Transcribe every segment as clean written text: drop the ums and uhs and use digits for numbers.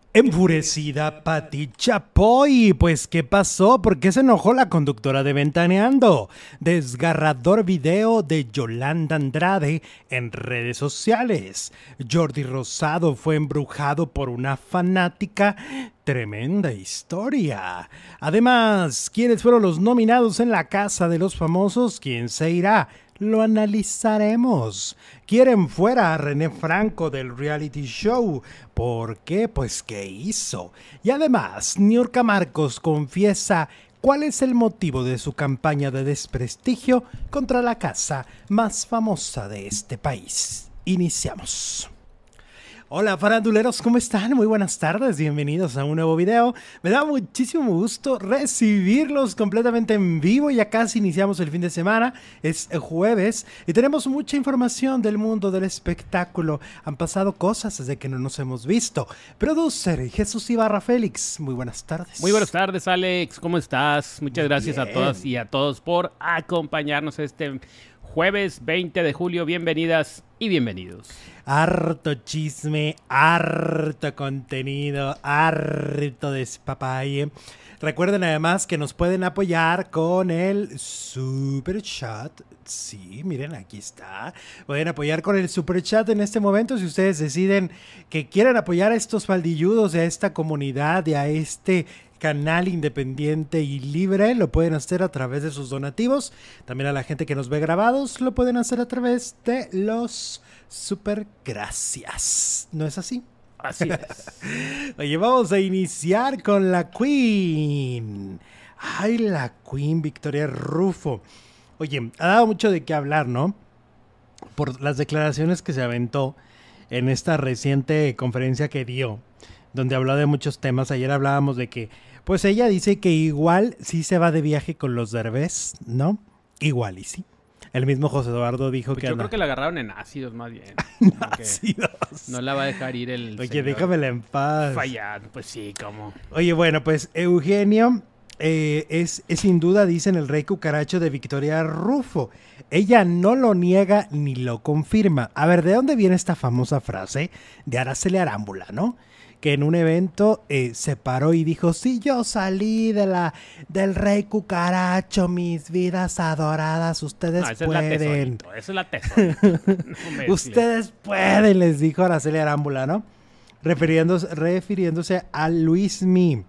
Enfurecida Pati Chapoy, pues ¿qué pasó? ¿Por qué se enojó la conductora de Ventaneando? Desgarrador video de Yolanda Andrade en redes sociales. Jordi Rosado fue embrujado por una fanática. Tremenda historia. Además, ¿quiénes fueron los nominados en la Casa de los Famosos? ¿Quién se irá? Lo analizaremos. Quieren fuera a René Franco del reality show. ¿Por qué? Pues ¿qué hizo? Y además, Niurka Marcos confiesa cuál es el motivo de su campaña de desprestigio contra la casa más famosa de este país. Iniciamos. Hola faranduleros, ¿cómo están? Muy buenas tardes, bienvenidos a un nuevo video. Me da muchísimo gusto recibirlos completamente en vivo. Ya casi iniciamos el fin de semana, es jueves y tenemos mucha información del mundo del espectáculo. Han pasado cosas desde que no nos hemos visto. Producer Jesús Ibarra Félix, muy buenas tardes. Muy buenas tardes, Alex, ¿cómo estás? Muchas gracias a todas y a todos por acompañarnos este jueves 20 de julio. Bienvenidas y bienvenidos. Harto chisme, harto contenido, harto despapalle. Recuerden además que nos pueden apoyar con el Super Chat. Sí, miren, aquí está. Pueden apoyar con el Super Chat en este momento si ustedes deciden que quieren apoyar a estos faldilludos, a esta comunidad y a este canal independiente y libre. Lo pueden hacer a través de sus donativos. También a la gente que nos ve grabados lo pueden hacer a través de los super gracias. ¿No es así? Así es. Oye, vamos a iniciar con la Queen. Ay, la Queen Victoria Rufo. Oye, ha dado mucho de qué hablar, ¿no? Por las declaraciones que se aventó en esta reciente conferencia que dio, donde habló de muchos temas. Ayer hablábamos de que, pues ella dice que igual sí se va de viaje con los Derbez, ¿no? Igual y sí. El mismo José Eduardo dijo Pues que... yo creo que la agarraron en ácidos más bien. ácidos. No la va a dejar ir el Oye, déjamela en paz. fallar. Pues sí, ¿cómo? Oye, bueno, pues Eugenio es sin duda, dicen, el rey cucaracho de Victoria Rufo. Ella no lo niega ni lo confirma. A ver, ¿de dónde viene esta famosa frase de Araceli Arámbula, no? Que en un evento se paró y dijo: sí, yo salí del rey cucaracho, mis vidas adoradas, ustedes No, esa pueden. esa es la tesorito. No Ustedes pueden, les dijo Araceli Arámbula, ¿no? Refiriéndose a Luismi.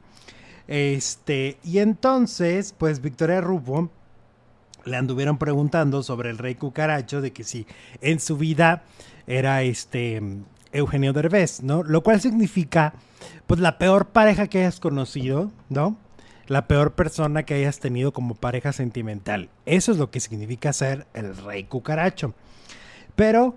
Y entonces, pues Victoria Rufo le anduvieron preguntando sobre el rey cucaracho, de que si en su vida era Eugenio Derbez, ¿no? Lo cual significa, pues, la peor pareja que hayas conocido, ¿no? La peor persona que hayas tenido como pareja sentimental. Eso es lo que significa ser el rey cucaracho. Pero,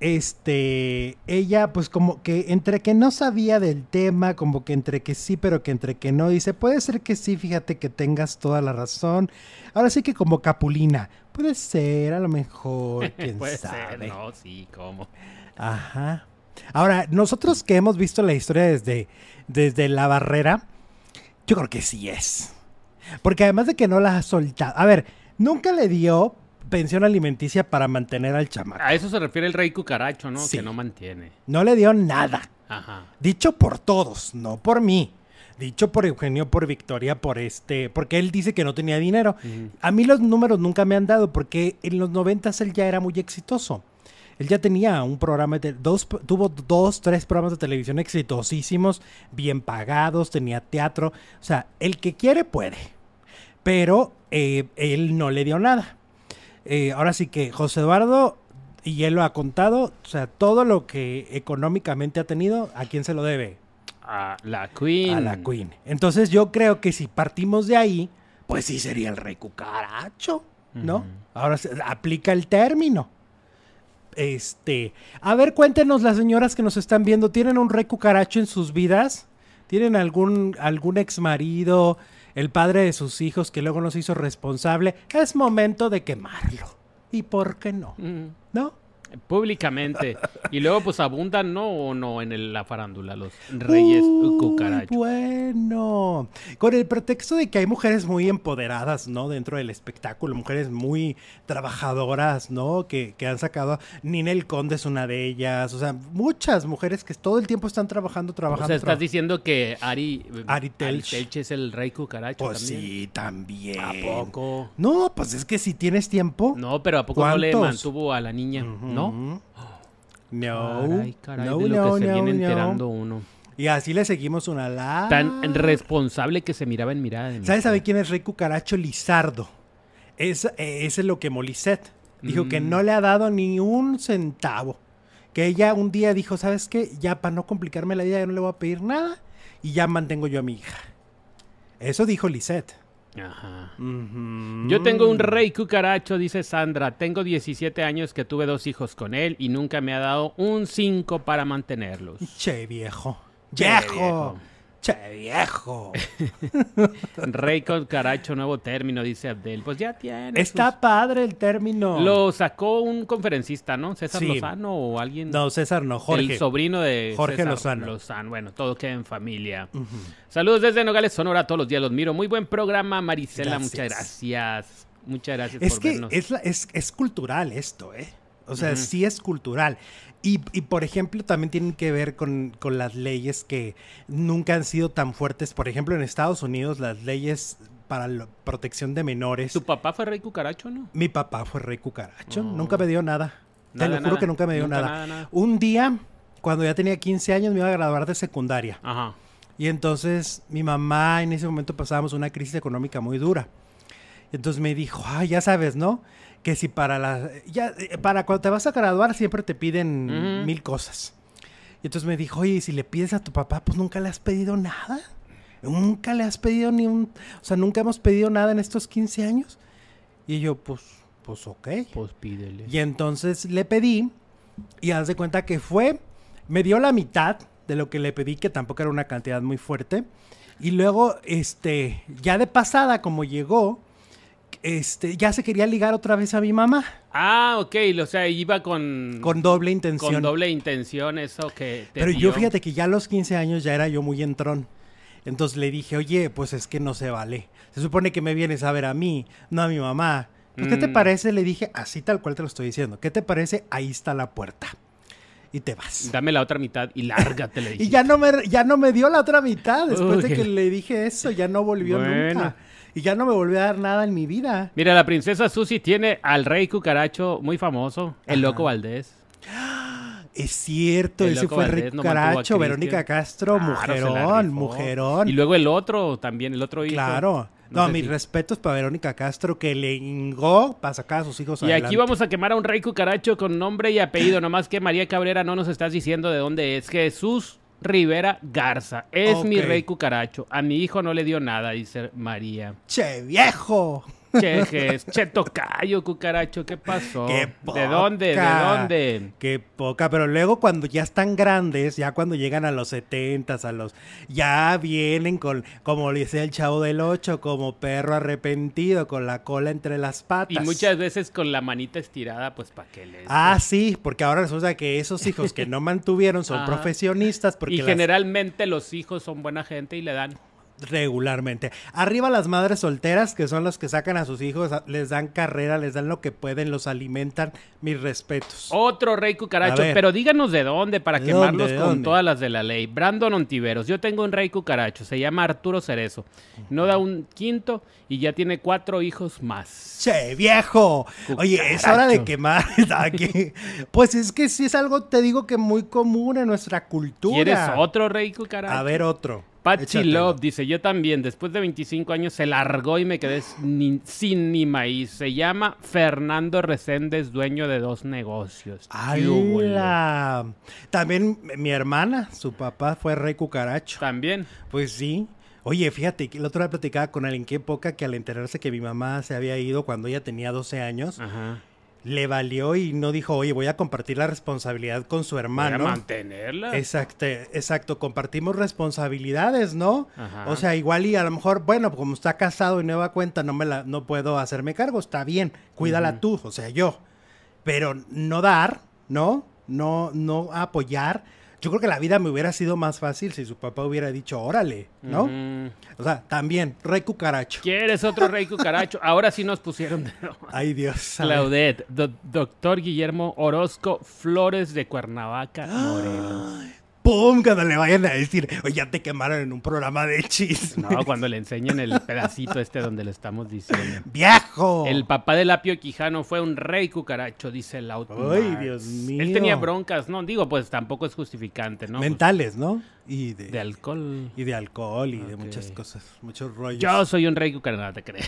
ella, pues, como que entre que no sabía del tema, como que entre que sí, pero que entre que no, dice, puede ser que sí, fíjate que tengas toda la razón. Ahora sí que como Capulina, puede ser, a lo mejor, quién puede sabe. ser, no, sí, ¿cómo? Ajá. Ahora, nosotros que hemos visto la historia desde la barrera, yo creo que sí es. Porque además de que no la ha soltado. A ver, nunca le dio pensión alimenticia para mantener al chamaco. A eso se refiere el rey cucaracho, ¿no? Sí. Que no mantiene. No le dio nada. Ajá. Dicho por todos, no por mí. Dicho por Eugenio, por Victoria, porque él dice que no tenía dinero. A mí los números nunca me han dado, porque en los 90s él ya era muy exitoso. Él ya tenía un programa, tuvo 3 programas de televisión exitosísimos, bien pagados, tenía teatro. O sea, el que quiere puede. Pero él no le dio nada. Ahora sí que José Eduardo, y él lo ha contado, o sea, todo lo que económicamente ha tenido, ¿a quién se lo debe? A la Queen. A la Queen. Entonces yo creo que si partimos de ahí, pues sí sería el rey cucaracho, ¿no? Ahora se aplica el término. A ver, cuéntenos las señoras que nos están viendo, ¿tienen un rey cucaracho en sus vidas? ¿Tienen algún ex marido, el padre de sus hijos que luego nos hizo responsable? Es momento de quemarlo. ¿Y por qué no? ¿No? Públicamente. Y luego pues abundan, ¿no? ¿O no en la farándula los reyes cucarachos? Bueno, con el pretexto de que hay mujeres muy empoderadas, ¿no? Dentro del espectáculo, mujeres muy trabajadoras, ¿no? Que han sacado, Ninel Conde es una de ellas, o sea, muchas mujeres que todo el tiempo están trabajando. O sea, estás diciendo que Ari Telch es el rey cucaracho pues también. Sí, también. ¿A poco? No, pues es que si tienes tiempo. No, pero ¿a poco ¿cuántos? no le mantuvo a la niña? ¿No? No. Caray, de lo que se viene enterando uno. Y así le seguimos una larga. Tan responsable que se miraba en mirada de ¿Sabes quién es Rey Cucaracho? Lizardo. Ese es lo que Molisset dijo, que no le ha dado ni un centavo. Que ella un día dijo, ¿sabes qué? Ya para no complicarme la vida, ya no le voy a pedir nada y ya mantengo yo a mi hija. Eso dijo Lisette. Ajá. Yo tengo un rey cucaracho, dice Sandra. Tengo 17 años que tuve 2 hijos con él y nunca me ha dado un 5 para mantenerlos. Che, viejo. Viejo. Che, viejo. Rey cucaracho, nuevo término, dice Abdel. Pues ya tiene. Está padre el término. Lo sacó un conferencista, ¿no? César Sí. Lozano o alguien. No, César no, Jorge. El sobrino de Jorge César Lozano. Bueno, todo queda en familia. Saludos desde Nogales, Sonora. Todos los días los miro. Muy buen programa, Marisela. Gracias. Muchas gracias. Muchas gracias Es por que vernos. es cultural esto, ¿eh? O sea, sí es cultural. Y, por ejemplo, también tienen que ver con las leyes que nunca han sido tan fuertes. Por ejemplo, en Estados Unidos, las leyes para la protección de menores. ¿Tu papá fue rey cucaracho, no? Mi papá fue rey cucaracho. Nunca me dio nada. Te Nada, lo juro que nunca me dio Nunca nada. Un día, cuando ya tenía 15 años, me iba a graduar de secundaria. Ajá. Y entonces mi mamá, en ese momento pasábamos una crisis económica muy dura. Entonces me dijo, ay, ya sabes, ¿no? Que si para cuando te vas a graduar siempre te piden 1000 cosas. Y entonces me dijo, oye, si le pides a tu papá, pues nunca le has pedido nada. Nunca le has pedido o sea, nunca hemos pedido nada en estos 15 años. Y yo, pues ok. Pues pídele. Y entonces le pedí y haz de cuenta que me dio la mitad de lo que le pedí, que tampoco era una cantidad muy fuerte. Y luego, ya de pasada, como llegó, ya se quería ligar otra vez a mi mamá. Ah, ok, o sea, iba con doble intención. Con doble intención, eso que te Pero dio. yo fíjate que ya a los 15 años ya era yo muy entrón. Entonces le dije, oye, pues es que no se vale. Se supone que me vienes a ver a mí, no a mi mamá. Pues, ¿qué te parece? Le dije, así tal cual te lo estoy diciendo. ¿Qué te parece? Ahí está la puerta. Y te vas. Dame la otra mitad y lárgate, le dije. Y ya no me dio la otra mitad. Después de que le dije eso, ya no volvió nunca. Y ya no me volvió a dar nada en mi vida. Mira, la princesa Susi tiene al rey cucaracho muy famoso, el Loco Valdés. Es cierto, El ese Loco fue el rey Valdés no mantuvo a cucaracho, Cristian. Verónica Castro, Claro, se la mujerón, rifó. mujerón. Y luego el otro también, el otro hijo. Claro. No No, sé mis si- respetos para Verónica Castro, que le hingó para sacar a sus hijos Y adelante. aquí vamos a quemar a un rey cucaracho con nombre y apellido, nomás que María Cabrera no nos estás diciendo de dónde es. Jesús Rivera Garza. Es mi Ok. rey cucaracho. A mi hijo no le dio nada, dice María. ¡Che, viejo! Che tocayo, cucaracho, ¿qué pasó? ¡Qué ¿De dónde? ¿De poca! dónde? ¡Qué poca! Pero luego cuando ya están grandes, ya cuando llegan a los 70s, ya vienen como le decía el Chavo del 8, como perro arrepentido, con la cola entre las patas. Y muchas veces con la manita estirada, pues para que les... Ah, sí, porque ahora resulta que esos hijos que no mantuvieron son Ajá. profesionistas. Porque Y las- generalmente los hijos son buena gente y le dan. regularmente. Arriba las madres solteras, que son las que sacan a sus hijos, les dan carrera, les dan lo que pueden, los alimentan. Mis respetos. Otro rey cucaracho, A ver. pero díganos de dónde para ¿De quemarlos dónde? ¿De con dónde? todas las de la ley. Brandon Ontiveros, yo tengo un rey cucaracho, se llama Arturo Cerezo. No da un quinto y ya tiene 4 hijos más. ¡Che, viejo! Oye, es hora de quemar. Aquí. Pues es que sí es algo, te digo que muy común en nuestra cultura. ¿Quieres otro rey cucaracho? A ver, otro. Patsy Échatelo. Love dice, yo también, después de 25 años se largó y me quedé sin ni maíz. Se llama Fernando Reséndez, dueño de 2 negocios. ¡Qué húbole! ¡Hala! También mi hermana, su papá fue rey cucaracho. También. Pues sí. Oye, fíjate, que la otra vez platicaba con alguien, qué poca que al enterarse que mi mamá se había ido cuando ella tenía 12 años, Ajá. le valió y no dijo, oye, voy a compartir la responsabilidad con su hermano. Para mantenerla. Exacto, compartimos responsabilidades, ¿no? Ajá. O sea, igual y a lo mejor, bueno, como está casado y nueva cuenta, no puedo hacerme cargo, está bien, cuídala tú, o sea, yo. Pero no dar, ¿no? No apoyar. Yo creo que la vida me hubiera sido más fácil si su papá hubiera dicho, órale, ¿no? O sea, también, rey cucaracho. ¿Quieres otro rey cucaracho? Ahora sí nos pusieron de... Ay, Dios. Claudette, doctor Guillermo Orozco Flores de Cuernavaca, Morelos. ¡Pum! Cuando le vayan a decir, oye, ya te quemaron en un programa de chisme. No, cuando le enseñen el pedacito donde le estamos diciendo. ¡Viejo! El papá de Lapio Quijano fue un rey cucaracho, dice Lautner. ¡Ay, Dios mío! Él tenía broncas, no, digo, pues tampoco es justificante, ¿no? Mentales, ¿no? Y de alcohol. Y de alcohol y de muchas cosas, muchos rollos. Yo soy un rey cucaracho, no te crees.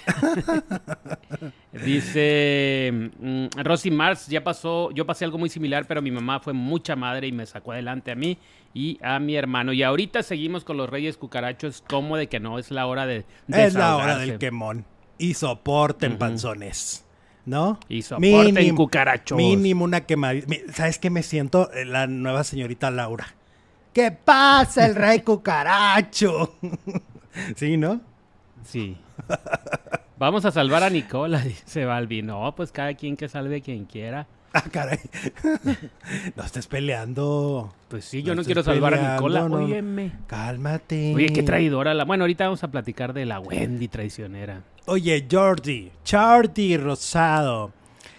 Dice Rosy Mars, yo pasé algo muy similar, pero mi mamá fue mucha madre y me sacó adelante a mí y a mi hermano. Y ahorita seguimos con los reyes cucarachos, como de que no es la hora de es la hora del quemón. Y soporten panzones, ¿no? Y soporten cucarachos. Mínimo una quemadita. ¿Sabes qué me siento? La nueva señorita Laura. ¿Qué pasa, el rey cucaracho? Sí, ¿no? Sí. Vamos a salvar a Nicola, dice Balbi. No, pues cada quien que salve quien quiera. Ah, caray. No estés peleando. Pues sí, yo no quiero salvar a Nicola. No. Óyeme. Cálmate. Oye, qué traidora. Bueno, ahorita vamos a platicar de la Wendy traicionera. Jordi Rosado.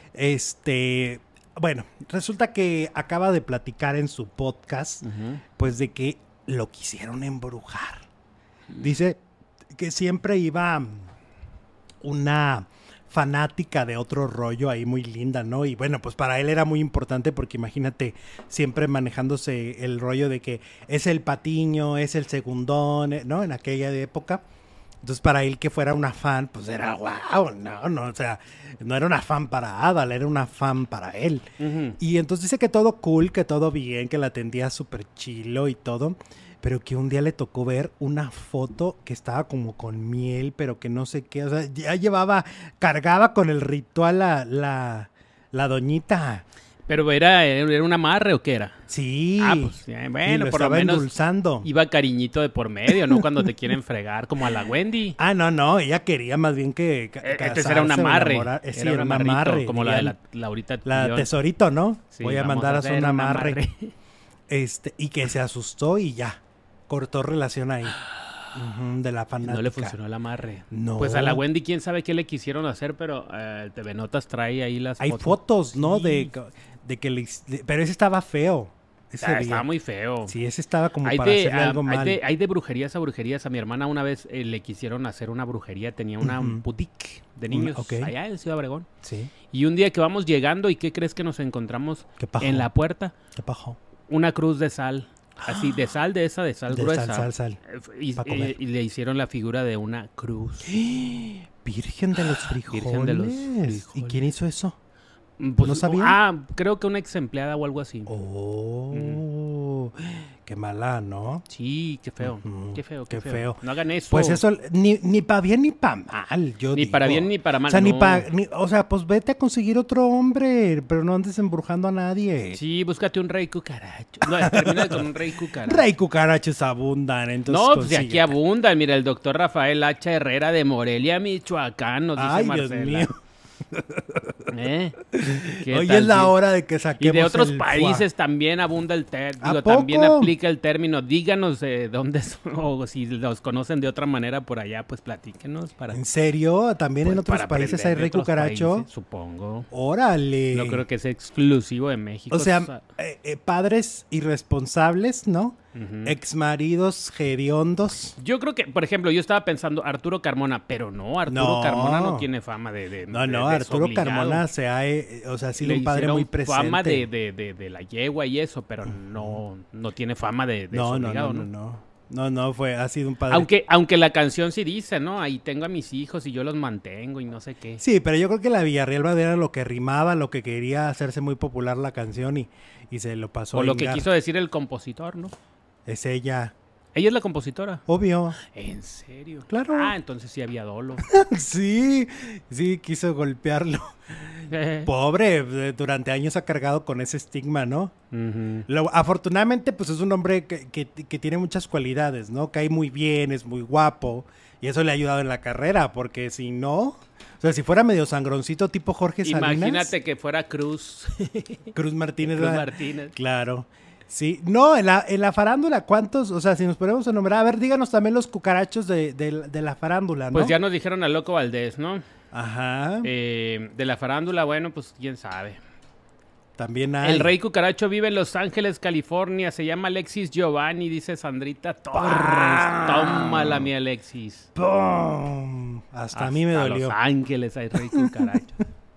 Bueno, resulta que acaba de platicar en su podcast, pues de que lo quisieron embrujar. Dice que siempre iba una fanática de otro rollo ahí muy linda, ¿no? Y bueno, pues para él era muy importante porque imagínate siempre manejándose el rollo de que es el patiño, es el segundón, ¿no? En aquella época. Entonces, para él que fuera una fan, pues era wow, no, o sea, no era una fan para Adal, era una fan para él. Y entonces dice que todo cool, que todo bien, que la atendía súper chilo y todo, pero que un día le tocó ver una foto que estaba como con miel, pero que no sé qué, o sea, ya cargaba con el ritual la doñita. ¿Pero era un amarre o qué era? Sí. Ah, pues bueno, por lo menos endulzando. Iba cariñito de por medio, ¿no? Cuando te quieren fregar, como a la Wendy. Ah, no, ella quería más bien que entonces era un amarre. Sí, era un amarre. Como la de la Laurita. La Tesorito, ¿no? Sí, voy a mandar a hacer un amarre. Y que se asustó y ya. Cortó relación ahí. De la fanática. No le funcionó el amarre. No. Pues a la Wendy, quién sabe qué le quisieron hacer, pero TV Notas trae ahí las fotos. Hay fotos, ¿no? Sí. De que pero ese estaba feo. Estaba muy feo. Sí, ese estaba como para hacerle algo mal. Hay de brujerías a brujerías. A mi hermana una vez le quisieron hacer una brujería. Tenía una boutique de niños allá en Ciudad Obregón. Sí. Y un día que vamos llegando, ¿y qué crees que nos encontramos en la puerta? ¿Qué pasó? Una cruz de sal. Así, de sal gruesa. Sal. Y le hicieron la figura de una cruz. Virgen de los frijoles. Virgen de los frijoles. ¿Y quién hizo eso? Pues, ¿no sabía? Creo que una ex empleada o algo así. Qué mala, ¿no? Sí, qué feo. Qué feo. No hagan eso. Pues eso, ni para bien ni para mal, yo Ni digo. para bien ni para mal. O sea, pues vete a conseguir otro hombre, pero no andes embrujando a nadie. Sí, búscate un rey cucaracho. No, termina con un rey cucaracho. Rey cucarachos abundan, entonces. No, pues aquí abundan. Mira, el doctor Rafael H. Herrera de Morelia, Michoacán, nos dice Ay, Marcela. Dios mío. Hoy es la hora de que saquemos. Y de otros países también abunda el término. También aplica el término. Díganos dónde son, o si los conocen de otra manera por allá, pues platíquenos. ¿En serio? ¿También pues en otros países hay rey cucaracho? Países, supongo. ¡Órale! No creo que sea exclusivo de México. O sea, padres irresponsables, ¿no? Exmaridos hediondos. Yo creo que, por ejemplo, yo estaba pensando Arturo Carmona, pero no, Arturo Carmona no tiene fama de Arturo Carmona sí ha sido un padre muy presente. Fama de la yegua y eso, pero no tiene fama de desobligado, No, ha sido un padre. Aunque la canción sí dice, ¿no? Ahí tengo a mis hijos y yo los mantengo y no sé qué. Sí, pero yo creo que la Villarreal era lo que rimaba, lo que quería hacerse muy popular la canción y se lo pasó. O lo que quiso decir el compositor, ¿no? Es ella. ¿Ella es la compositora? Obvio. ¿En serio? Claro. Entonces sí había dolo. Sí, quiso golpearlo. Pobre, durante años ha cargado con ese estigma, ¿no? Afortunadamente, pues es un hombre que tiene muchas cualidades, ¿no? Cae muy bien, es muy guapo, y eso le ha ayudado en la carrera, porque si no, o sea, si fuera medio sangroncito tipo Jorge Salinas. Imagínate que fuera Cruz. Cruz Martínez. Cruz Martínez. Claro. Sí, no, en la farándula, ¿cuántos? O sea, si nos ponemos a nombrar, a ver, díganos también los cucarachos de la farándula, ¿no? Pues ya nos dijeron a Loco Valdés, ¿no? Ajá. De la farándula, bueno, pues quién sabe. También hay. El rey cucaracho vive en Los Ángeles, California. Se llama Alexis Giovanni, dice Sandrita Torres. Tómala, mi Alexis. ¡Pum! Hasta a mí me dolió. Los Ángeles hay rey cucaracho.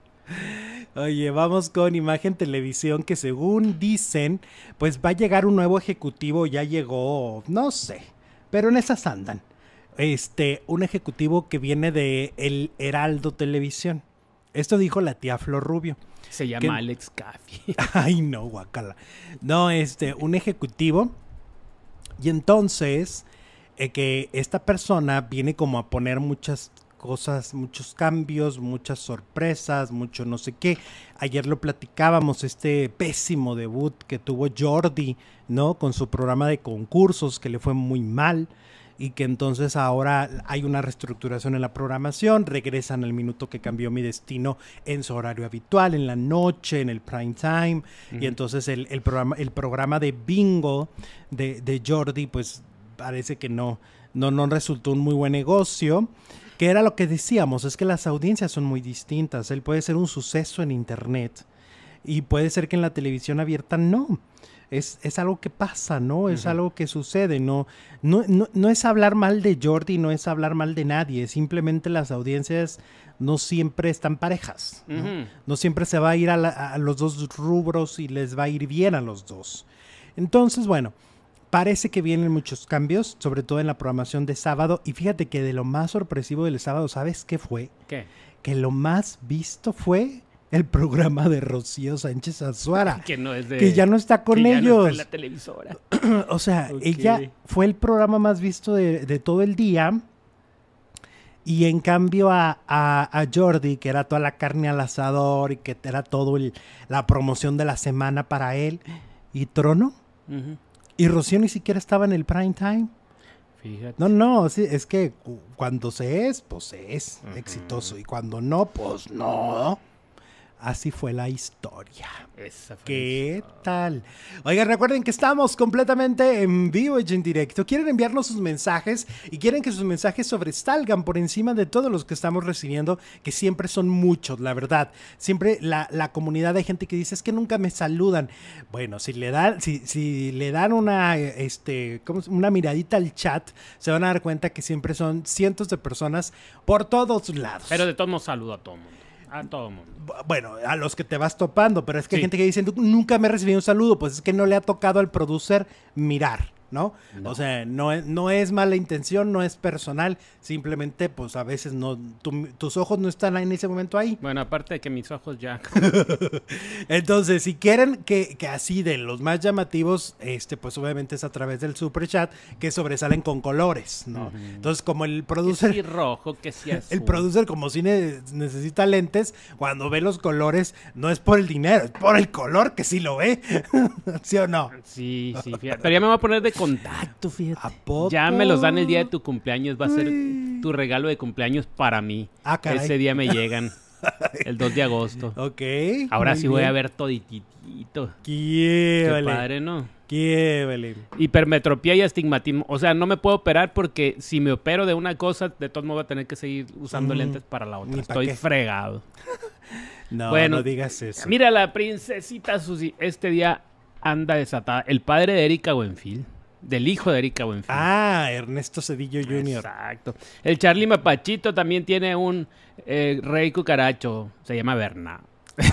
Oye, vamos con Imagen Televisión, que según dicen, pues va a llegar un nuevo ejecutivo, ya llegó, no sé, pero en esas andan. Un ejecutivo que viene de El Heraldo Televisión. Esto dijo la tía Flor Rubio. Se llama Alex Caffi. Ay, no, guacala. No, un ejecutivo. Y entonces, que esta persona viene como a poner muchas cosas, muchos cambios, muchas sorpresas, mucho no sé qué. Ayer lo platicábamos, este pésimo debut que tuvo Jordi, ¿no? Con su programa de concursos, que le fue muy mal, y que entonces ahora hay una reestructuración en la programación, regresan al minuto que cambió mi destino en su horario habitual, en la noche, en el prime time, y entonces el programa de bingo de Jordi, pues parece que no resultó un muy buen negocio. Que era lo que decíamos, es que las audiencias son muy distintas. Él puede ser un suceso en internet y puede ser que en la televisión abierta no. Es algo que pasa, ¿no? Es algo que sucede. No es hablar mal de Jordi, no es hablar mal de nadie. Simplemente las audiencias no siempre están parejas, ¿no? No siempre se va a ir a los dos rubros y les va a ir bien a los dos. Entonces, bueno, parece que vienen muchos cambios, sobre todo en la programación de sábado. Y fíjate que de lo más sorpresivo del sábado, ¿sabes qué fue? ¿Qué? Que lo más visto fue el programa de Rocío Sánchez Azuara. Que ya no está con ellos. Ya no está en la televisora. O sea, ella fue el programa más visto de todo el día. Y en cambio a Jordi, que era toda la carne al asador y que era todo la promoción de la semana para él, y Trono. Y Rocío ni siquiera estaba en el prime time. Fíjate. No, sí, es que cuando se es, pues se es exitoso. Y cuando no, pues no. Así fue la historia. ¿Qué tal? Oigan, recuerden que estamos completamente en vivo y en directo. Quieren enviarnos sus mensajes y quieren que sus mensajes sobresalgan por encima de todos los que estamos recibiendo, que siempre son muchos, la verdad. Siempre la comunidad de gente que dice, es que nunca me saludan. Bueno, si le dan una miradita al chat, se van a dar cuenta que siempre son cientos de personas por todos lados. Pero de todos modos saludo a todo el mundo. A todo el mundo. Bueno, a los que te vas topando, pero es que hay gente que dice, nunca me he recibido un saludo, pues es que no le ha tocado al producer mirar, ¿no? O sea, no es mala intención, no es personal, simplemente pues a veces tus ojos no están en ese momento ahí. Bueno, aparte de que mis ojos ya... Entonces, si quieren que así de los más llamativos, pues obviamente es a través del super chat, que sobresalen con colores, ¿no? Entonces, como el producer... Que sí rojo, que sí azul. El producer, como si necesita lentes, cuando ve los colores, no es por el dinero, es por el color que sí lo ve. ¿Sí o no? Sí, fíjate. Pero ya me voy a poner de contacto, fíjate. ¿A poco? Ya me los dan el día de tu cumpleaños. Va a ser tu regalo de cumpleaños para mí. Ah, caray. Ese día me llegan. El 2 de agosto. Ok. Ahora sí voy a ver todititito. Qué padre, ¿no? Qué hipermetropía y astigmatismo. O sea, no me puedo operar porque si me opero de una cosa, de todos modos voy a tener que seguir usando lentes para la otra. Estoy fregado. No digas eso. Mira, la princesita Susi este día anda desatada. El padre de Erika Buenfil, del hijo de Erika Buenfil. Ah, Ernesto Cedillo Jr. Exacto. El Charlie Mapachito también tiene un rey cucaracho. Se llama Berna.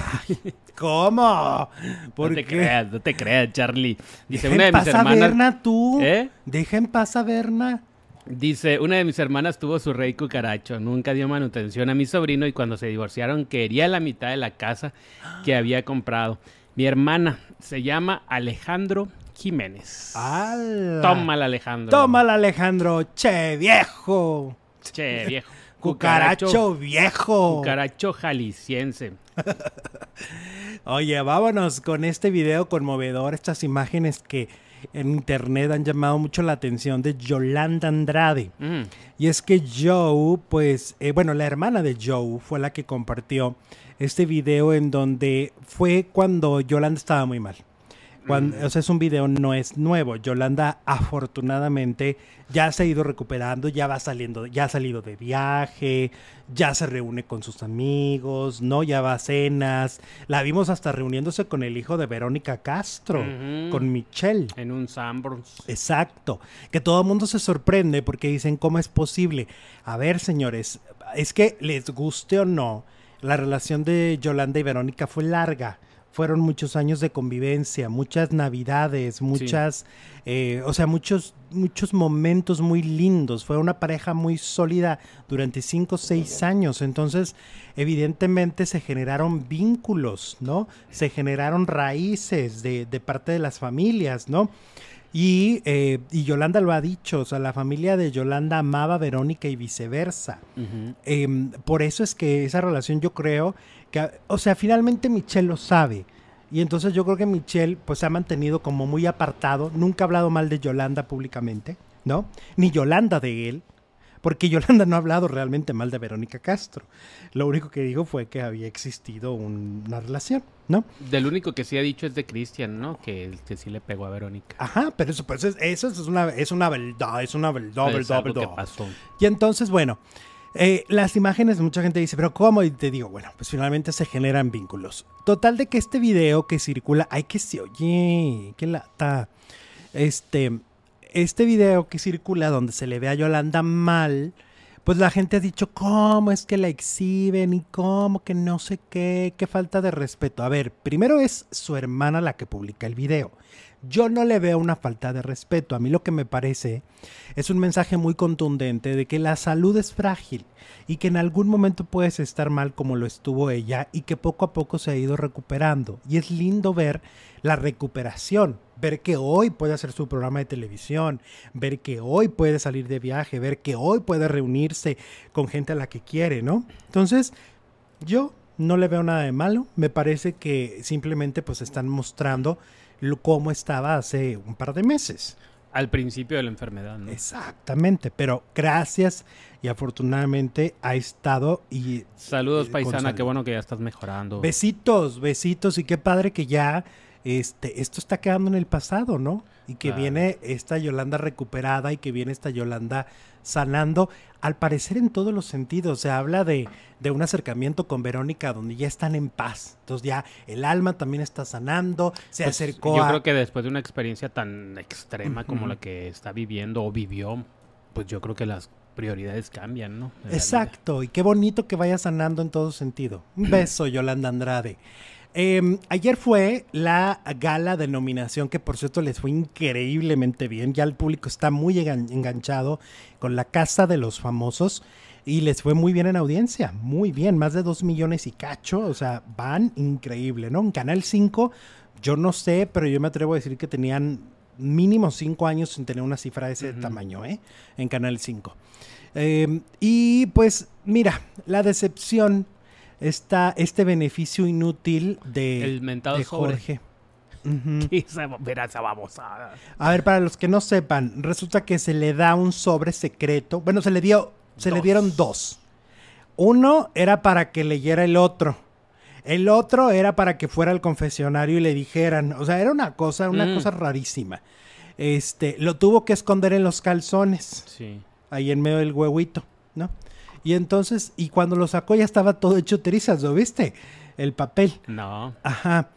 ¿Cómo? ¿Por qué? No te creas, Charlie. Dice, una de mis hermanas... ¿Deja en paz a Berna tú? ¿Deja en paz a Berna? Dice, una de mis hermanas tuvo su rey cucaracho. Nunca dio manutención a mi sobrino y cuando se divorciaron quería la mitad de la casa que había comprado. Mi hermana se llama Alejandro Jiménez. ¡Hala! Tómala, Alejandro. Tómala, Alejandro. Che, viejo. Che, viejo. Cucaracho viejo. Cucaracho jalisciense. Oye, vámonos con este video conmovedor, estas imágenes que en internet han llamado mucho la atención de Yolanda Andrade. Y es que Joe, pues, la hermana de Joe fue la que compartió este video en donde fue cuando Yolanda estaba muy mal. O sea, es un video, no es nuevo. Yolanda, afortunadamente, ya se ha ido recuperando, ya va saliendo, ya ha salido de viaje, ya se reúne con sus amigos, ¿no? Ya va a cenas. La vimos hasta reuniéndose con el hijo de Verónica Castro, con Michelle. En un Sanborns. Exacto. Que todo el mundo se sorprende porque dicen, ¿cómo es posible? A ver, señores, es que les guste o no, la relación de Yolanda y Verónica fue larga. Fueron muchos años de convivencia, muchas navidades, muchos momentos muy lindos. Fue una pareja muy sólida durante 5 o 6 años. Entonces, evidentemente se generaron vínculos, ¿no? Se generaron raíces de parte de las familias, ¿no? Y Yolanda lo ha dicho, o sea, la familia de Yolanda amaba a Verónica y viceversa. Por eso es que esa relación yo creo que, o sea, finalmente Michelle lo sabe. Y entonces yo creo que Michelle pues se ha mantenido como muy apartado, nunca ha hablado mal de Yolanda públicamente, ¿no? Ni Yolanda de él, porque Yolanda no ha hablado realmente mal de Verónica Castro. Lo único que dijo fue que había existido una relación, ¿no? Del único que sí ha dicho es de Cristian, ¿no? Que sí le pegó a Verónica. Ajá, pero eso es una verdad, Es algo que pasó. Y entonces, bueno, las imágenes, mucha gente dice, ¿pero cómo? Y te digo, bueno, pues finalmente se generan vínculos. Total de que este video que circula, ay, que se oye, qué lata. Este video que circula donde se le ve a Yolanda mal, pues la gente ha dicho, ¿cómo es que la exhiben? Y cómo que no sé qué falta de respeto. A ver, primero es su hermana la que publica el video. Yo no le veo una falta de respeto. A mí lo que me parece es un mensaje muy contundente de que la salud es frágil y que en algún momento puedes estar mal como lo estuvo ella y que poco a poco se ha ido recuperando. Y es lindo ver la recuperación, ver que hoy puede hacer su programa de televisión, ver que hoy puede salir de viaje, ver que hoy puede reunirse con gente a la que quiere, ¿no? Entonces, yo no le veo nada de malo. Me parece que simplemente pues están mostrando cómo estaba hace un par de meses. Al principio de la enfermedad, ¿no? Exactamente, pero gracias y afortunadamente ha estado y... Saludos, paisana, qué bueno que ya estás mejorando. Besitos y qué padre que ya esto está quedando en el pasado, ¿no? Y que viene esta Yolanda recuperada y que viene esta Yolanda sanando, al parecer en todos los sentidos. Se habla de un acercamiento con Verónica donde ya están en paz. Entonces ya el alma también está sanando, se acercó yo creo que después de una experiencia tan extrema como la que está viviendo o vivió, pues yo creo que las prioridades cambian, ¿no? Exacto, y qué bonito que vaya sanando en todo sentido. Un beso, Yolanda Andrade. Ayer fue la gala de nominación que por cierto les fue increíblemente bien. Ya el público está muy enganchado con la Casa de los Famosos y les fue muy bien en audiencia, muy bien, más de 2 millones y cacho, o sea, van increíble, ¿no? En Canal 5, yo no sé, pero yo me atrevo a decir que tenían mínimo 5 años sin tener una cifra de ese tamaño, en Canal 5. Y pues mira, la decepción... este beneficio inútil el mentado de Jorge. ¿Qué verá esa babosada? A ver, para los que no sepan, resulta que se le da un sobre secreto. Bueno, se le dieron 2. Uno era para que leyera el otro. El otro era para que fuera al confesionario y le dijeran. O sea, era una cosa rarísima. Lo tuvo que esconder en los calzones. Sí. Ahí en medio del huevito, ¿no? Y entonces, y cuando lo sacó ya estaba todo hecho trizas, ¿lo viste? El papel. No. Ajá.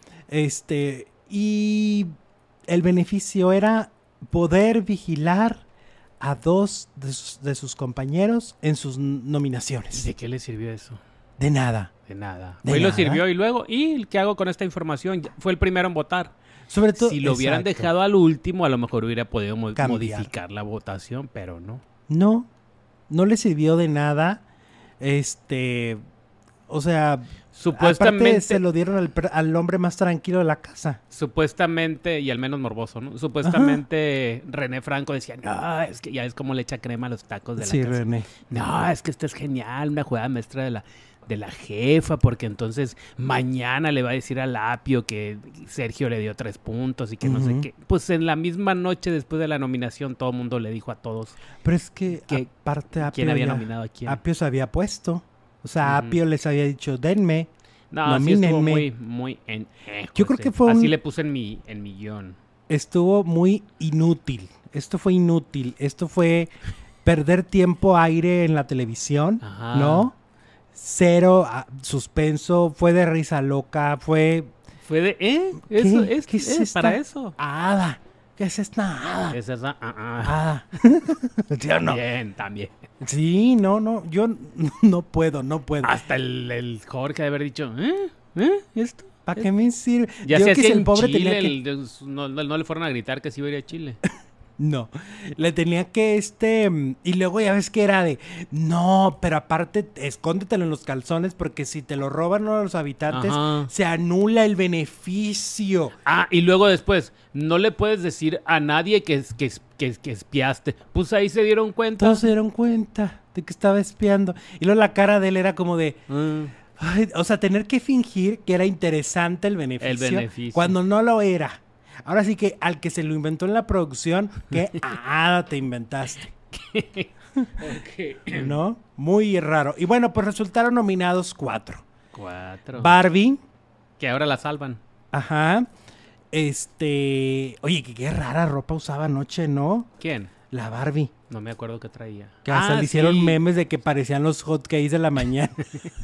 Y el beneficio era poder vigilar a 2 de sus compañeros en sus nominaciones. ¿De qué le sirvió eso? De nada. De nada. Hoy lo sirvió y luego, ¿y qué hago con esta información? Fue el primero en votar. Sobre todo, si lo hubieran dejado al último, a lo mejor hubiera podido modificar la votación, pero no. No le sirvió de nada. O sea, Supuestamente, aparte se lo dieron al hombre más tranquilo de la casa. supuestamente, y al menos morboso, ¿no? Supuestamente René Franco decía, no, es que ya es como le echa crema a los tacos de la Sí, casa. René. No, es que esto es genial, una jugada maestra de la jefa, porque entonces mañana le va a decir al Apio que Sergio le dio 3 puntos y que no sé qué. Pues en la misma noche después de la nominación todo el mundo le dijo a todos Pero es que ¿Qué- aparte quién había ya- nominado a quién. Apio se había puesto. O sea, Ujú. Apio les había dicho, denme. No, sí estuvo nomínenme. muy Yo creo que fue así un- le puse en mi guión. Estuvo muy inútil. Esto fue inútil. Esto fue perder tiempo aire en la televisión, Ajá. ¿no? Cero suspenso, fue de risa loca, fue... Fue de, ¿Qué? Eso es, ¿Qué es esta para eso. hada? ¿Qué es esta hada? Es esa, Hada. ¿Sí o no? También. Sí, no, yo no puedo. Hasta el Jorge de haber dicho, ¿esto? ¿Para qué me sirve? Ya Yo se que hacía si en Chile, tenía que... no le fueron a gritar que sí iba a ir a Chile. No, le tenía que y luego ya ves que era de, no, pero aparte escóndetelo en los calzones porque si te lo roban uno de los habitantes, Ajá. se anula el beneficio. Ah, y luego después, no le puedes decir a nadie que espiaste. Pues ahí se dieron cuenta. Todos se dieron cuenta de que estaba espiando. Y luego la cara de él era como de, ay, o sea, tener que fingir que era interesante el beneficio. Cuando no lo era. Ahora sí que al que se lo inventó en la producción, ¿qué te inventaste? ¿No? Muy raro. Y bueno, pues resultaron nominados 4. 4. Barbie. Que ahora la salvan. Ajá. Oye, qué rara ropa usaba anoche, ¿no? ¿Quién? La Barbie. No me acuerdo qué traía. Que hasta le hicieron sí. memes de que parecían los hotcakes de la mañana.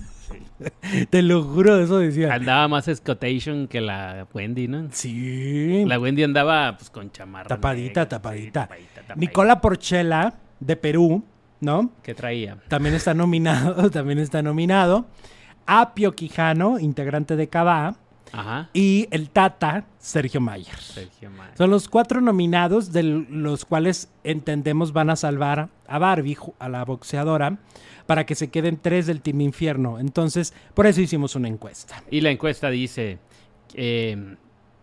Te lo juro, eso decía. Andaba más escotation que la Wendy, ¿no? Sí. La Wendy andaba pues con chamarra. Tapadita. negra, sí, tapadita. Nicola Porchela, de Perú, ¿no? ¿Qué traía? También está nominado. Apio Quijano, integrante de Cabá. Ajá. Y el Tata, Sergio Mayer. Sergio Mayer. Son los 4 nominados, de los cuales entendemos van a salvar a Barbie, a la boxeadora, para que se queden 3 del Team Infierno. Entonces, por eso hicimos una encuesta. Y la encuesta dice, ¿quién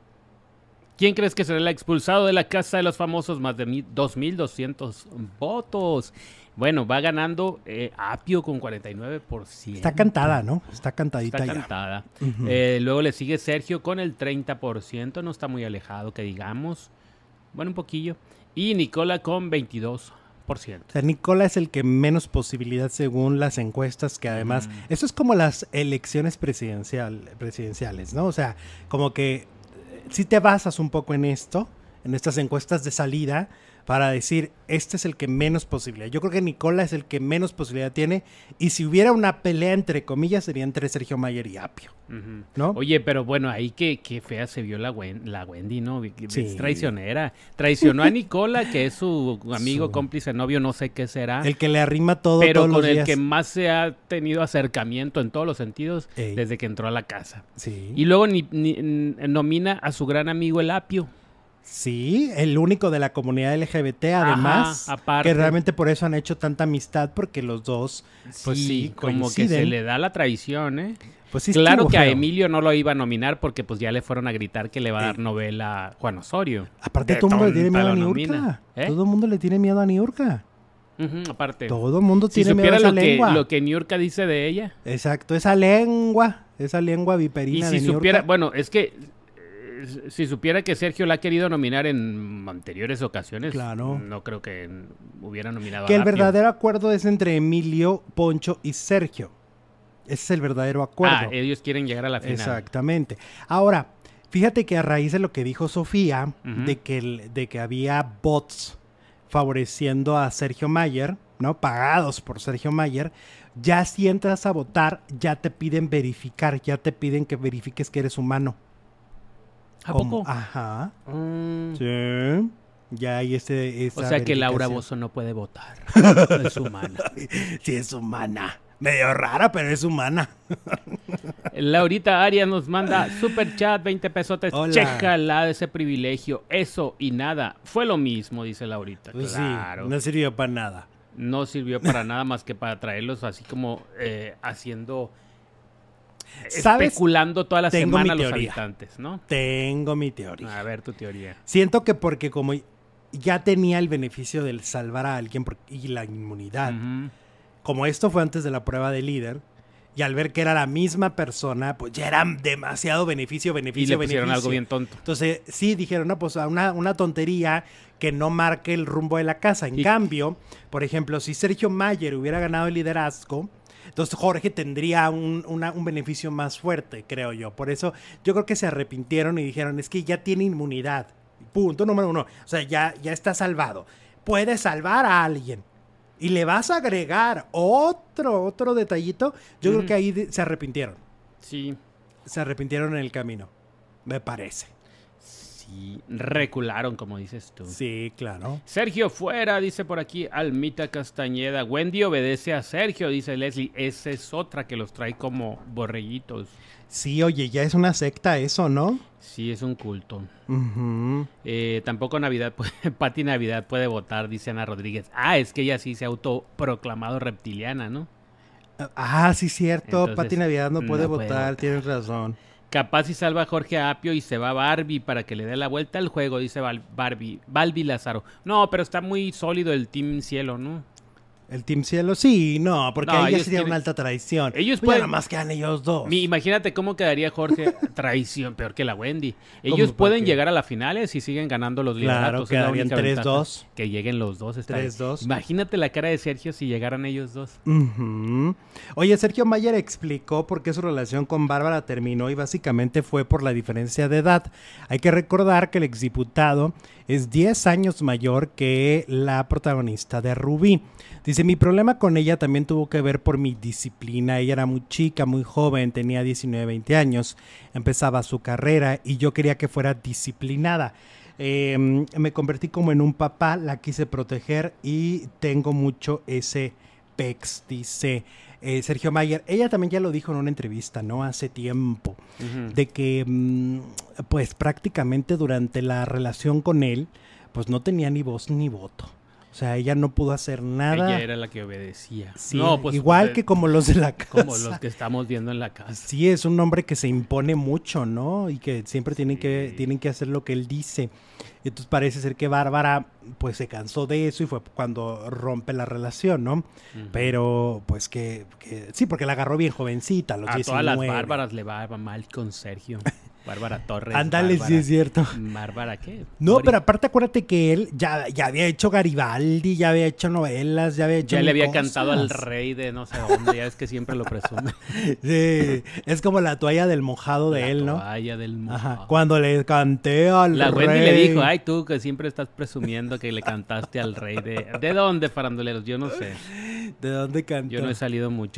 crees que será el expulsado de la Casa de los Famosos? Más de 2,200 votos. Bueno, va ganando Apio con 49%. Está cantada, ¿no? Está cantadita Está ya. cantada. Ujú. Luego le sigue Sergio con el 30%. No está muy alejado, que digamos. Bueno, un poquillo. Y Nicola con 22%. O sea, Nicola es el que menos posibilidad según las encuestas, que además, eso es como las elecciones presidenciales, ¿no? O sea, como que si te basas un poco en esto, en estas encuestas de salida, para decir, este es el que menos posibilidad. Yo creo que Nicola es el que menos posibilidad tiene, y si hubiera una pelea entre comillas, sería entre Sergio Mayer y Apio, ¿no? Oye, pero bueno, ahí qué fea se vio la Wendy, ¿no? Sí. Es traicionera. Traicionó a Nicola, que es su amigo, cómplice, novio, no sé qué será. El que le arrima todo pero todos con los el días. que más se ha tenido acercamiento en todos los sentidos Ey. desde que entró a la casa. Sí. Y luego nomina a su gran amigo el Apio. Sí, el único de la comunidad LGBT, además, aparte. que realmente por eso han hecho tanta amistad, porque los dos, pues sí, como que se le da la traición, ¿eh? Pues sí, Claro estuvo que a feo. Emilio no lo iba a nominar porque pues ya le fueron a gritar que le va a dar novela a Juan Osorio. Aparte De todo el mundo le tiene tonta miedo a lo Niurka. nomina, ¿eh? Todo el mundo le tiene miedo a Niurka. Aparte. Todo el mundo Si tiene miedo a supiera esa lengua. lo que Niurka dice de ella. Exacto, esa lengua Y viperina si de Niurka. supiera, bueno, es que si supiera que Sergio la ha querido nominar en anteriores ocasiones, Claro. no creo que hubiera nominado Que a el Apio. verdadero acuerdo es entre Emilio, Poncho y Sergio. Ese es el verdadero acuerdo. Ellos quieren llegar a la final. Exactamente. Ahora, fíjate que a raíz de lo que dijo Sofía, Ujú. de que había bots favoreciendo a Sergio Mayer, ¿no? Pagados por Sergio Mayer, ya si entras a votar, ya te piden verificar, ya te piden que verifiques que eres humano. ¿A Como- poco? Ajá. Mm. Sí. Ya hay esa O sea que Laura verificación. Bozzo no puede votar. No es humana. Sí, es humana. Medio rara, pero es humana. Laurita Arias nos manda super chat, 20 pesotes. Hola. Chécala de ese privilegio. Eso y nada. Fue lo mismo, dice Laurita. Pues Claro. sí, no sirvió para nada. No sirvió para nada más que para traerlos así como haciendo ¿Sabes? especulando toda la Tengo semana mi los teoría. habitantes, ¿no? Tengo mi teoría. A ver, tu teoría. Siento que porque como ya tenía el beneficio del salvar a alguien y la inmunidad, Ujú. como esto fue antes de la prueba de líder, y al ver que era la misma persona, pues ya era demasiado beneficio, Y le beneficio, pusieron beneficio. algo bien tonto. Entonces, sí, dijeron, no, pues una tontería que no marque el rumbo de la casa. En Y- cambio, por ejemplo, si Sergio Mayer hubiera ganado el liderazgo, entonces Jorge tendría un beneficio más fuerte, creo yo. Por eso yo creo que se arrepintieron y dijeron, es que ya tiene inmunidad. Punto número 1. O sea, ya está salvado. Puede salvar a alguien. Y le vas a agregar otro detallito. Yo creo que ahí se arrepintieron. Sí, Se arrepintieron en el camino. Me parece. sí, recularon, como dices tú. Sí, claro. Sergio fuera, dice por aquí Almita Castañeda. Wendy obedece a Sergio, dice Leslie. Esa es otra que los trae como borreguitos. Sí, oye, ya es una secta eso, ¿no? Sí, es un culto. Ujú. Tampoco Pati Navidad puede votar, dice Ana Rodríguez. Ah, es que ella sí se ha autoproclamado reptiliana, ¿no? Ah, sí, cierto. Entonces, Pati Navidad no puede no puede votar, votar. tienes razón. Capaz si salva a Jorge Apio y se va Barbie para que le dé la vuelta al juego, dice Balbi Lázaro. No, pero está muy sólido el Team Cielo, ¿no? ¿El Team Cielo? Sí, no, porque No, ahí ya ellos sería quieren- una alta traición. Ellos Pues ya pueden- nada más quedan ellos dos. Imagínate cómo quedaría Jorge. Traición, peor que la Wendy. ¿Cómo? Ellos ¿Por pueden qué? llegar a las finales y siguen ganando los Claro, lideratos. Es la quedarían única ventaja. 3-2. Que lleguen los dos. Está bien. 3-2. Imagínate la cara de Sergio si llegaran ellos dos. Ujú. Oye, Sergio Mayer explicó por qué su relación con Bárbara terminó y básicamente fue por la diferencia de edad. Hay que recordar que el exdiputado es 10 años mayor que la protagonista de Rubí. Dice, mi problema con ella también tuvo que ver por mi disciplina. Ella era muy chica, muy joven, tenía 19, 20 años, empezaba su carrera y yo quería que fuera disciplinada. Me convertí como en un papá, la quise proteger y tengo mucho ese pex, dice Sergio Mayer. Ella también ya lo dijo en una entrevista, ¿no? Hace tiempo, de que pues prácticamente durante la relación con él, pues no tenía ni voz ni voto. O sea, ella no pudo hacer nada. Ella era la que obedecía. Sí, No, pues, igual pues, que como los de la casa. como los que estamos viendo en la casa. Sí, es un hombre que se impone mucho, ¿no? Y que siempre tienen que hacer lo que él dice. Entonces parece ser que Bárbara pues se cansó de eso y fue cuando rompe la relación, ¿no? Pero pues que sí, porque la agarró bien jovencita, a los A 19. todas las Bárbaras le va mal con Sergio. Bárbara Torres. Ándale, Bárbara, sí es cierto. ¿Bárbara qué? No, Mori- pero aparte acuérdate que él ya había hecho Garibaldi, ya había hecho novelas, ya había hecho Ya le había cosas. cantado al rey de no sé dónde, ya es que siempre lo presume. Sí, es como la toalla del mojado de La él, ¿no? toalla del Ajá, mojado. cuando le canté al La rey. Wendy le dijo, ay tú que siempre estás presumiendo que le cantaste al rey de... ¿De dónde, faranduleros? Yo no sé. ¿De dónde cantó? Yo no he salido mucho.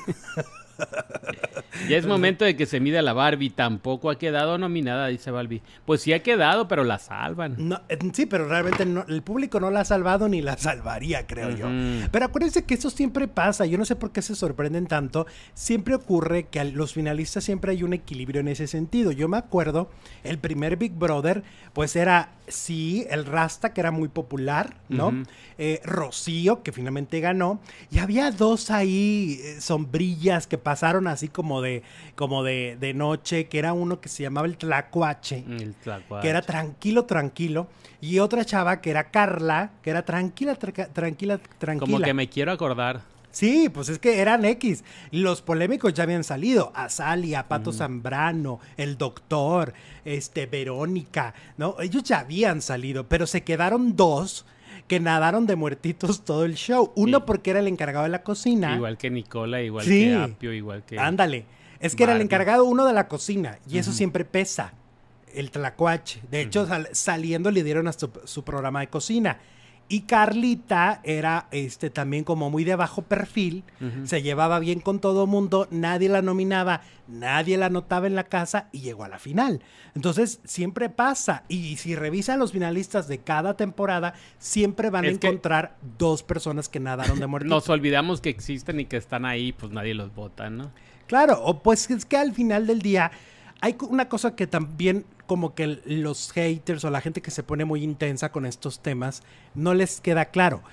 Ya es momento de que se mida la Barbie. Tampoco ha quedado nominada, dice Barbie. Pues sí ha quedado, pero la salvan. No, sí, pero realmente el público no la ha salvado ni la salvaría, creo yo. Ujú. Pero acuérdense que eso siempre pasa. Yo no sé por qué se sorprenden tanto. Siempre ocurre que a los finalistas siempre hay un equilibrio en ese sentido. Yo me acuerdo, el primer Big Brother, pues era, sí, el Rasta, que era muy popular, ¿no? Ujú. Rocío, que finalmente ganó. Y había dos ahí, sombrillas, que pasaron así como de noche, que era uno que se llamaba el Tlacuache. El tlacuache. Que era tranquilo, y otra chava que era Carla, que era tranquila. Como que me quiero acordar. Sí, pues es que eran X. Los polémicos ya habían salido. Azalia, Pato Zambrano, el Doctor, Verónica, ¿no? Ellos ya habían salido, pero se quedaron dos que nadaron de muertitos todo el show. Uno Sí. porque era el encargado de la cocina. Igual que Nicola, igual Sí. que Apio, igual que... Ándale. Es que era el Barbie. encargado uno de la cocina y eso siempre pesa, el tlacuache. De hecho, saliendo le dieron hasta su programa de cocina. Y Carlita era también como muy de bajo perfil, se llevaba bien con todo mundo, nadie la nominaba, nadie la notaba en la casa y llegó a la final. Entonces, siempre pasa. Y si revisan los finalistas de cada temporada, siempre van a Es que- encontrar dos personas que nadaron de muertito. Nos olvidamos que existen y que están ahí, pues nadie los vota, ¿no? Claro, o pues es que al final del día hay una cosa que también como que los haters o la gente que se pone muy intensa con estos temas no les queda claro.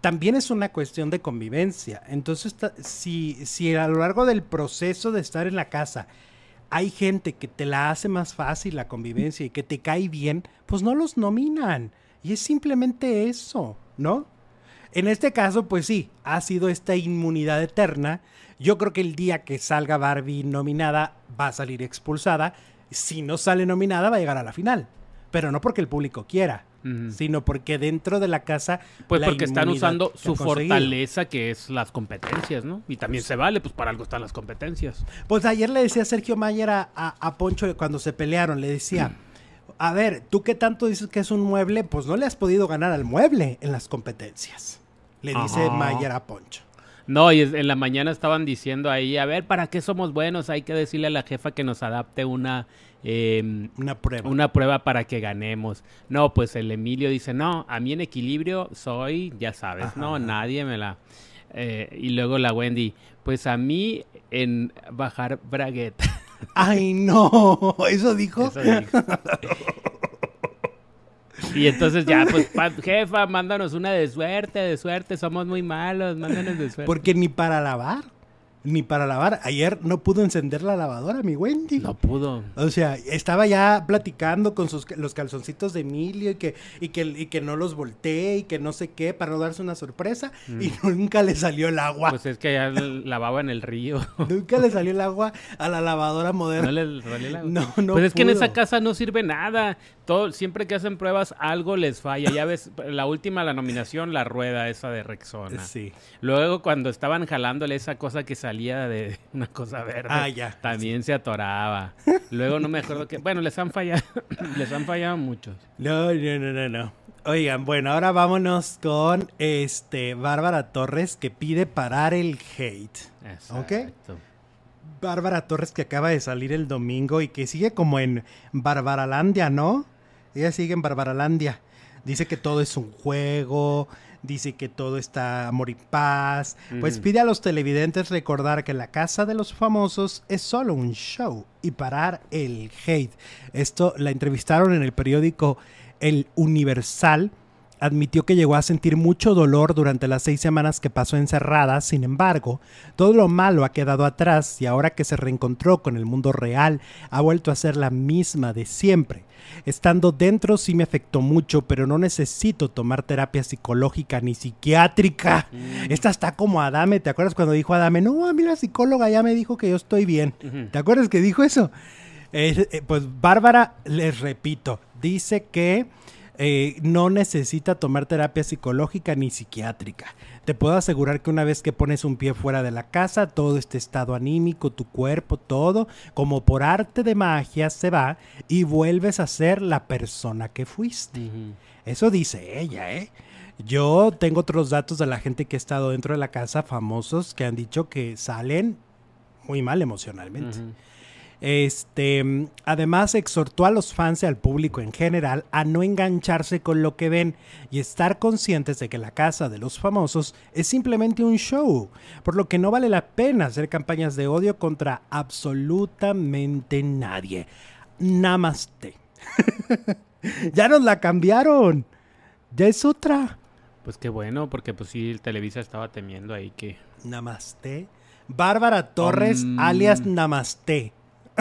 también es una cuestión de convivencia. Entonces, si a lo largo del proceso de estar en la casa hay gente que te la hace más fácil la convivencia y que te cae bien, pues no los nominan. Y es simplemente eso, ¿no? En este caso, pues sí, ha sido esta inmunidad eterna. Yo creo que el día que salga Barbie nominada va a salir expulsada. Si no sale nominada va a llegar a la final. Pero no porque el público quiera, sino porque dentro de la casa... Pues porque están usando su fortaleza, que es las competencias, ¿no? Y también se vale, pues para algo están las competencias. Pues ayer le decía Sergio Mayer a Poncho cuando se pelearon, le decía... A ver, tú que tanto dices que es un mueble, pues no le has podido ganar al mueble en las competencias. Le dice Mayer a Poncho. No, y en la mañana estaban diciendo ahí, a ver, ¿para qué somos buenos? Hay que decirle a la jefa que nos adapte una prueba para que ganemos. No, pues el Emilio dice, no, a mí en equilibrio soy, ya sabes, ajá, no, nadie me la... y luego la Wendy, pues a mí en bajar bragueta. ¡Ay, no! ¿Eso dijo? Eso dijo. Y entonces ya, pues, jefa, mándanos una de suerte, somos muy malos, mándanos de suerte. Porque ni para lavar. Ayer no pudo encender la lavadora, mi Wendy. No pudo. O sea, estaba ya platicando con los calzoncitos de Emilio y que no los voltee y que no sé qué para no darse una sorpresa y nunca le salió el agua. Pues es que ya lavaba en el río. Nunca le salió el agua a la lavadora moderna. No le salió el agua. No pues es pudo. que en esa casa no sirve nada. Siempre que hacen pruebas algo les falla. Ya ves, la nominación, la rueda esa de Rexona. Sí. Luego cuando estaban jalándole esa cosa que salía de una cosa verde, también se atoraba. Luego no me acuerdo qué. Bueno, les han fallado muchos. No. Oigan, bueno, ahora vámonos con Bárbara Torres, que pide parar el hate. Exacto. ¿Ok? Bárbara Torres, que acaba de salir el domingo y que sigue como en Barbaralandia, ¿no? Ella sigue en Barbaralandia. Dice que todo es un juego, dice que todo está amor y paz. Pues pide a los televidentes recordar que la Casa de los Famosos es solo un show y parar el hate. Esto la entrevistaron en el periódico El Universal. Admitió que llegó a sentir mucho dolor durante las 6 semanas que pasó encerrada. Sin embargo, todo lo malo ha quedado atrás y ahora que se reencontró con el mundo real, ha vuelto a ser la misma de siempre. Estando dentro sí me afectó mucho, pero no necesito tomar terapia psicológica ni psiquiátrica. Esta está como Adame. ¿Te acuerdas cuando dijo Adame? No, a mí la psicóloga ya me dijo que yo estoy bien. ¿Te acuerdas que dijo eso? Pues Bárbara, les repito, dice que no necesita tomar terapia psicológica ni psiquiátrica. Te puedo asegurar que una vez que pones un pie fuera de la casa, todo este estado anímico, tu cuerpo, todo, como por arte de magia se va y vuelves a ser la persona que fuiste. Eso dice ella, ¿eh? Yo tengo otros datos de la gente que ha estado dentro de la casa, famosos, que han dicho que salen muy mal emocionalmente. Además exhortó a los fans y al público en general a no engancharse con lo que ven y estar conscientes de que la Casa de los Famosos es simplemente un show, por lo que no vale la pena hacer campañas de odio contra absolutamente nadie. Namaste. Ya nos la cambiaron. Ya es otra. Pues qué bueno, porque pues sí, el Televisa estaba temiendo ahí que... Namaste. Bárbara Torres, alias Namaste.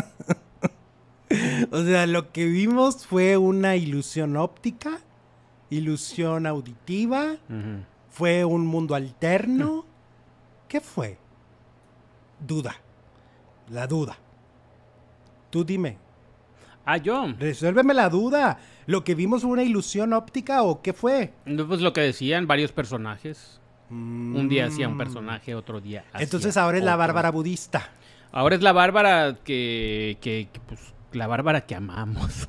O sea, lo que vimos fue una ilusión óptica, ilusión auditiva, fue un mundo alterno. ¿Qué fue? Duda. La duda. Tú dime. Yo. Resuélveme la duda. ¿Lo que vimos fue una ilusión óptica o qué fue? Pues lo que decían varios personajes. Un día hacía un personaje, otro día hacía Entonces ahora es la Bárbara budista. Ahora es la Bárbara que pues, la Bárbara que amamos.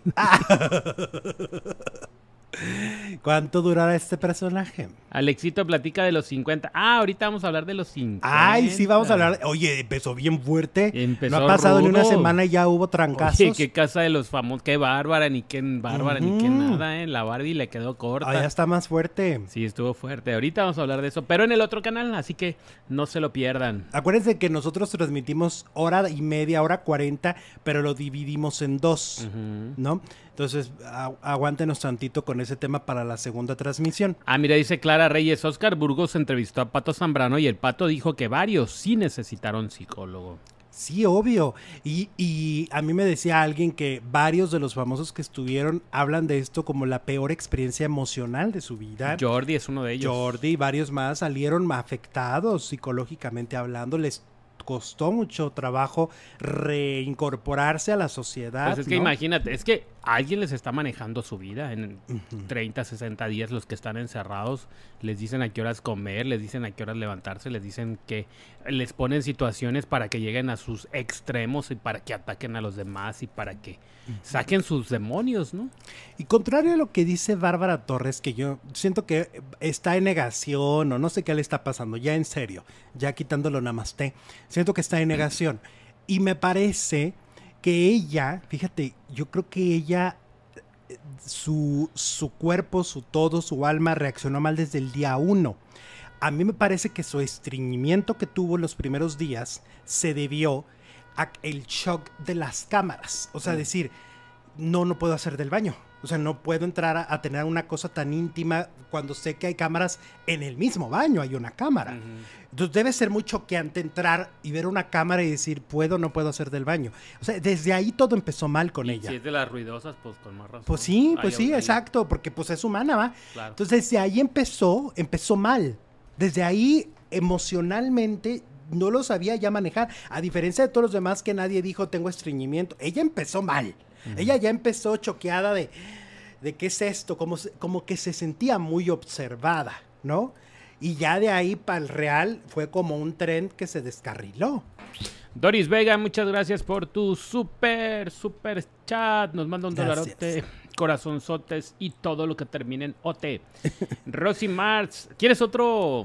¿Cuánto durará este personaje? Alexito platica de los 50. Ahorita vamos a hablar de los 50. Ay, sí, vamos a hablar. Oye, empezó bien fuerte. Empezó no ha pasado rudo. ni una semana y ya hubo trancazos. Oye, qué Casa de los Famosos. Qué Bárbara, ni qué Bárbara, ni qué nada, La Barbie le quedó corta. Ah, ya está más fuerte. Sí, estuvo fuerte. Ahorita vamos a hablar de eso, pero en el otro canal, así que no se lo pierdan. Acuérdense que nosotros transmitimos hora y media, hora 40, pero lo dividimos en 2, ¿no? Entonces, aguántenos tantito con ese tema para la segunda transmisión. Ah, mira, dice Clara Reyes, Oscar Burgos entrevistó a Pato Zambrano y el Pato dijo que varios sí necesitaron psicólogo. Sí, obvio. Y a mí me decía alguien que varios de los famosos que estuvieron hablan de esto como la peor experiencia emocional de su vida. Jordi es uno de ellos. Jordi y varios más salieron afectados psicológicamente hablando. Les costó mucho trabajo reincorporarse a la sociedad. Pues es que ¿no? imagínate, es que alguien les está manejando su vida en 30, 60 días, los que están encerrados, les dicen a qué horas comer, les dicen a qué horas levantarse, les dicen que les ponen situaciones para que lleguen a sus extremos y para que ataquen a los demás y para que saquen sus demonios, ¿no? Y contrario a lo que dice Bárbara Torres, que yo siento que está en negación o no sé qué le está pasando, ya en serio, ya quitándolo namasté, siento que está en negación. Y me parece que ella, fíjate, yo creo que ella, su cuerpo, su todo, su alma reaccionó mal desde el día 1. A mí me parece que su estreñimiento que tuvo en los primeros días se debió al shock de las cámaras. O sea, decir, no puedo hacer del baño. O sea, no puedo entrar a tener una cosa tan íntima cuando sé que hay cámaras en el mismo baño, hay una cámara. Entonces debe ser muy choqueante entrar y ver una cámara y decir, ¿puedo o no puedo hacer del baño? O sea, desde ahí todo empezó mal con ella. Si es de las ruidosas, pues con más razón. Pues sí, exacto, porque pues es humana, ¿va? Claro. Entonces desde ahí empezó mal. Desde ahí emocionalmente no lo sabía ya manejar. A diferencia de todos los demás que nadie dijo tengo estreñimiento. Ella empezó mal. Ella ya empezó choqueada de qué es esto, como que se sentía muy observada, ¿no? Y ya de ahí para el real fue como un tren que se descarriló. Doris Vega, muchas gracias por tu super chat. Nos manda un Gracias. dolarote, corazonzotes y todo lo que termine en OT. Rosy Marx, ¿quieres otro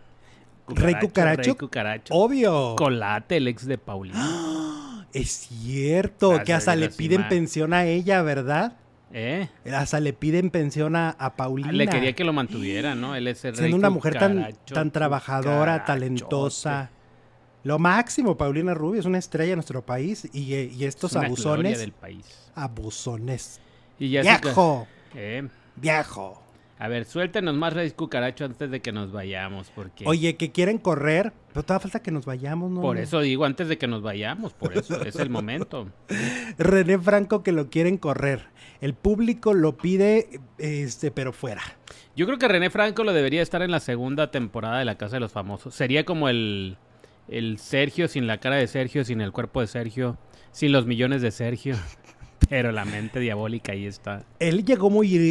Rey Cucaracho. Rey Cucaracho. Obvio. Colate, el ex de Paulina. Es cierto, Gracias, que hasta le Rosy piden Marx. pensión a ella, ¿verdad? Hasta le piden pensión a Paulina. Le quería que lo mantuviera, ¿no? Él es el Siendo Rey una mujer Cucaracho, tan trabajadora, cucarachote. talentosa. Lo máximo, Paulina Rubio es una estrella de nuestro país y estos Es una gloria abusones. del país. Abusones. Y ya ¡Viejo! Eh, ¡Viejo! A ver, suéltenos más Rey Cucaracho antes de que nos vayamos, porque... Oye, que quieren correr, pero todavía falta que nos vayamos, ¿no? Por eso digo, antes de que nos vayamos, por eso, es el momento. René Franco que lo quieren correr. El público lo pide, pero fuera. Yo creo que René Franco lo debería estar en la segunda temporada de La Casa de los Famosos. Sería como el Sergio sin la cara de Sergio, sin el cuerpo de Sergio, sin los millones de Sergio. Pero la mente diabólica ahí está. Él llegó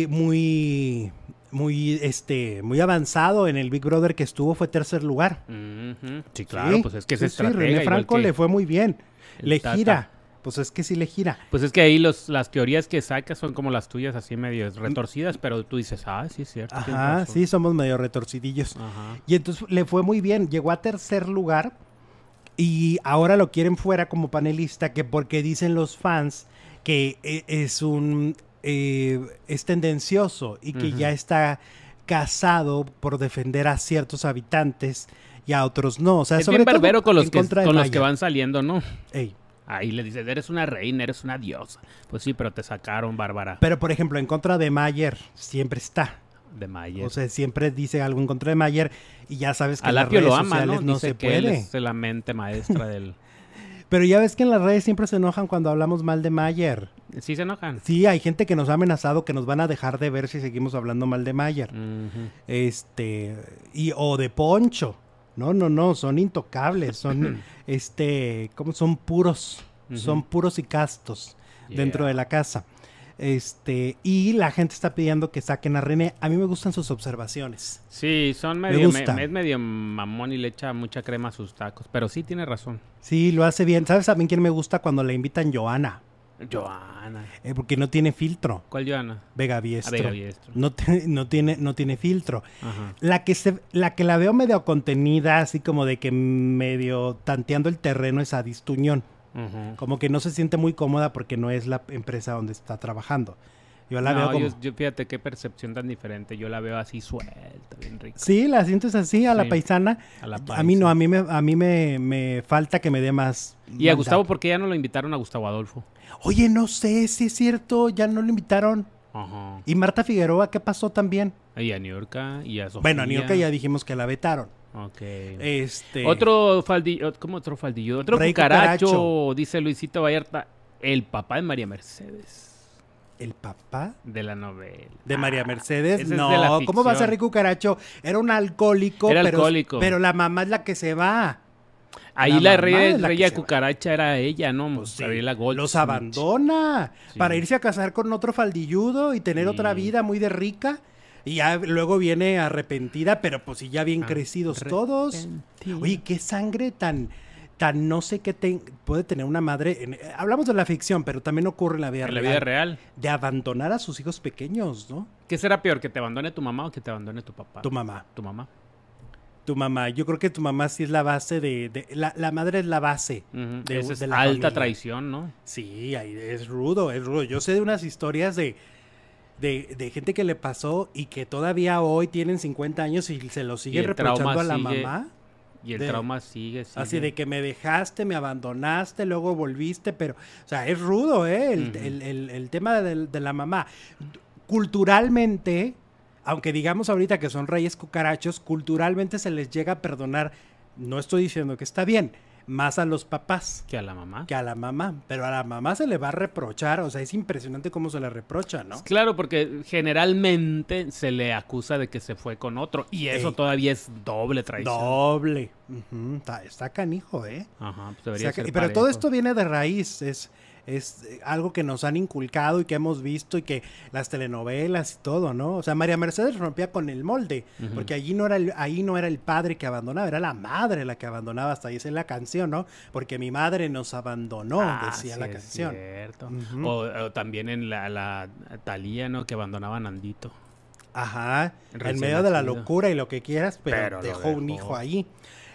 muy avanzado en el Big Brother que estuvo, fue tercer lugar. Sí, claro, pues es que es estratega. René igual Franco que le fue muy bien. el Le Tata. gira. Pues es que sí le gira. Pues es que ahí las teorías que sacas son como las tuyas, así medio retorcidas, pero tú dices, sí es cierto. tienes Ajá, razón. sí, somos medio retorcidillos. Ajá. Y entonces le fue muy bien. Llegó a tercer lugar y ahora lo quieren fuera como panelista, que porque dicen los fans que es tendencioso y que ya está casado por defender a ciertos habitantes y a otros no. O sea, Es sobre bien todo barbero con los en que contra de con los que Maya. van saliendo, ¿no? Ey. Ahí le dices, eres una reina, eres una diosa. Pues sí, pero te sacaron, Bárbara, Pero, por ejemplo, en contra de Mayer siempre está. de Mayer. O sea, siempre dice algo en contra de Mayer y ya sabes que en las Alapio redes lo ama, sociales ¿no? no Dice se que él puede. es la mente maestra del... Pero ya ves que en las redes siempre se enojan cuando hablamos mal de Mayer. Sí se enojan. Sí, hay gente que nos ha amenazado que nos van a dejar de ver si seguimos hablando mal de Mayer. Ujú. O de Poncho. No, son intocables, son ¿cómo? Son puros, son puros y castos dentro de la casa. Y la gente está pidiendo que saquen a René. A mí me gustan sus observaciones. Sí, son Me medio... gusta. es medio mamón y le echa mucha crema a sus tacos, pero sí tiene razón. Sí, lo hace bien. ¿Sabes también quién me gusta cuando le invitan? Joana. Joana. Porque no tiene filtro. ¿Cuál Joana? Vega Biestro. Vega Biestro. No tiene filtro. Ajá. La que la veo medio contenida, así como de que medio tanteando el terreno es Adis Tuñón. Ujú. Como que no se siente muy cómoda porque no es la empresa donde está trabajando. Yo la veo como... yo fíjate qué percepción tan diferente. Yo la veo así suelta, bien rica. Sí, la sientes así a la Sí, paisana. a la A mí no, paisa. a mí me falta que me dé más Y a mandato. Gustavo, ¿por qué ya no lo invitaron a Gustavo Adolfo? Oye, no sé si es cierto, ya no lo invitaron. Ajá. Y Marta Figueroa, ¿qué pasó también? Y a Niurka y a Sofía. Bueno, a Niurka ya dijimos que la vetaron. Ok. Otro ¿Cómo otro faldillo? Otro Rey cucaracho, cucaracho. dice Luisito Vallarta, el papá de María Mercedes. ¿El papá De la novela. de María Mercedes? ese es de No, la ¿cómo va a ser ficción. Rey Cucaracho? Era un alcohólico, Era pero, alcohólico. pero la mamá es la que se va. Ahí La la mamá es la que reya se va. cucaracha era ella, ¿no? Pues sí, Gabriela Goldsmith. los abandona Sí. para irse a casar con otro faldilludo y tener Sí. otra vida muy de rica. Y ya luego viene arrepentida, pero pues sí, ya bien crecidos todos. Arrepentida. Oye, qué sangre tan no sé qué puede tener una madre. Hablamos de la ficción, pero también ocurre en la vida En real. la vida real. De abandonar a sus hijos pequeños, ¿no? ¿Qué será peor, que te abandone tu mamá o que te abandone tu papá? Tu mamá. Tu mamá. Tu mamá. Yo creo que tu mamá sí es la base la madre es la base. Ujú. de, Esa es de la alta familia. traición, ¿no? Sí, ahí es rudo, es rudo. Yo sé de unas historias de gente que le pasó y que todavía hoy tienen 50 años y se lo siguen el trauma reprochando a la sigue, mamá. Y el De- trauma sigue. Así de que me dejaste, me abandonaste, luego volviste, pero, o sea, es rudo, ¿eh? Ujú. El tema de la mamá. Culturalmente, aunque digamos ahorita que son reyes cucarachos, culturalmente se les llega a perdonar, no estoy diciendo que está bien, más a los papás Que a la mamá. que a la mamá, pero a la mamá se le va a reprochar, o sea, es impresionante cómo se le reprocha, ¿no? Claro, porque generalmente se le acusa de que se fue con otro. Y eso Ey. todavía es doble traición. Doble. Ujú, está canijo, ¿eh? Ajá, pues debería ser Pero todo parejo. esto viene de raíz, es algo que nos han inculcado y que hemos visto y que las telenovelas y todo, ¿no? O sea, María Mercedes rompía con el molde, Ujú. porque allí ahí no era el padre que abandonaba, era la madre la que abandonaba, hasta ahí dice la canción, ¿no? Porque mi madre nos abandonó, decía sí, la es canción. cierto. Ujú. O también en la Thalía, ¿no? Que abandonaba a Nandito. Ajá, en Recién medio de la nacido. locura y lo que quieras, pero Pero lo dejó un dejó. hijo ahí.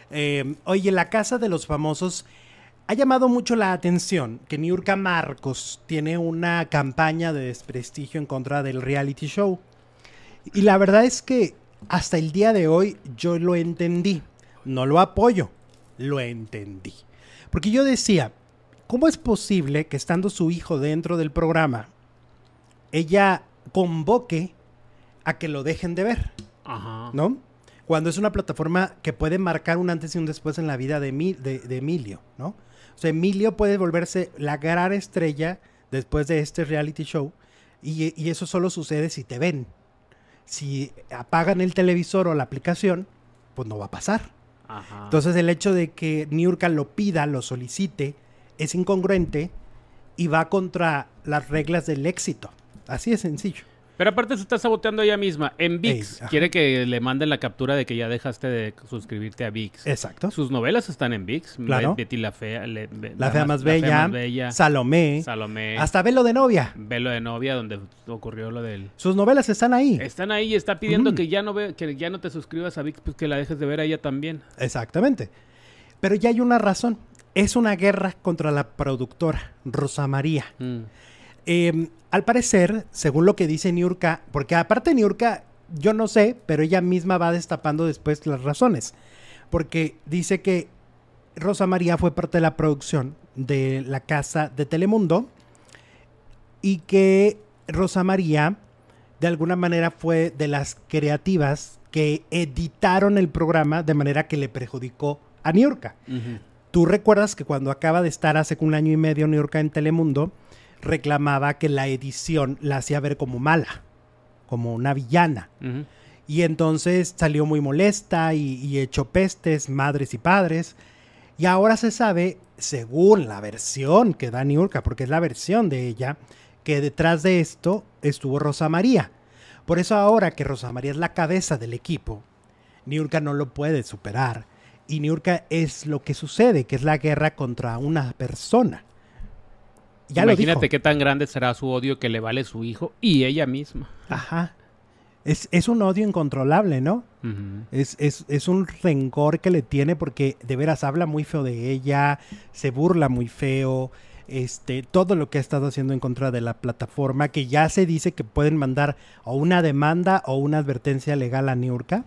Oye, la casa de los famosos ha llamado mucho la atención que Niurka Marcos tiene una campaña de desprestigio en contra del reality show. Y la verdad es que hasta el día de hoy yo lo entendí. No lo apoyo, lo entendí. Porque yo decía, ¿cómo es posible que estando su hijo dentro del programa, ella convoque a que lo dejen de ver? Ajá. ¿No? Cuando es una plataforma que puede marcar un antes y un después en la vida de Emilio, ¿no? O sea, Emilio puede volverse la gran estrella después de este reality show y eso solo sucede si te ven. Si apagan el televisor o la aplicación, pues no va a pasar. Ajá. Entonces el hecho de que Niurka lo pida, lo solicite, es incongruente y va contra las reglas del éxito. Así de sencillo. Pero aparte se está saboteando ella misma. En VIX Ey, ajá. quiere que le manden la captura de que ya dejaste de suscribirte a VIX. Exacto. Sus novelas están en VIX. Claro. Betty la Fea. La fea más bella, Salomé, Salomé. hasta Velo de novia. Velo de novia, donde ocurrió lo del... Sus novelas están ahí. Están ahí y está pidiendo Ujú. que ya no te suscribas a VIX, pues que la dejes de ver a ella también. Exactamente. Pero ya hay una razón. Es una guerra contra la productora, Rosa María. Mm. Al parecer, según lo que dice Niurka, porque aparte Niurka, yo no sé, pero ella misma va destapando después las razones. Porque dice que Rosa María fue parte de la producción de la casa de Telemundo y que Rosa María de alguna manera fue de las creativas que editaron el programa de manera que le perjudicó a Niurka. Ujú. Tú recuerdas que cuando acaba de estar hace un año y medio Niurka en Telemundo, reclamaba que la edición la hacía ver como mala, como una villana. Ujú. Y entonces salió muy molesta y echó pestes, madres y padres. Y ahora se sabe, según la versión que da Niurka, porque es la versión de ella, que detrás de esto estuvo Rosa María. Por eso ahora que Rosa María es la cabeza del equipo, Niurka no lo puede superar. Y Niurka es lo que sucede, que es la guerra contra una persona. Ya lo Imagínate dijo. qué tan grande será su odio que le vale su hijo y ella misma. Ajá. Es un odio incontrolable, ¿no? Ujú. Es un rencor que le tiene porque de veras habla muy feo de ella, se burla muy feo, todo lo que ha estado haciendo en contra de la plataforma, que ya se dice que pueden mandar o una demanda o una advertencia legal a Niurka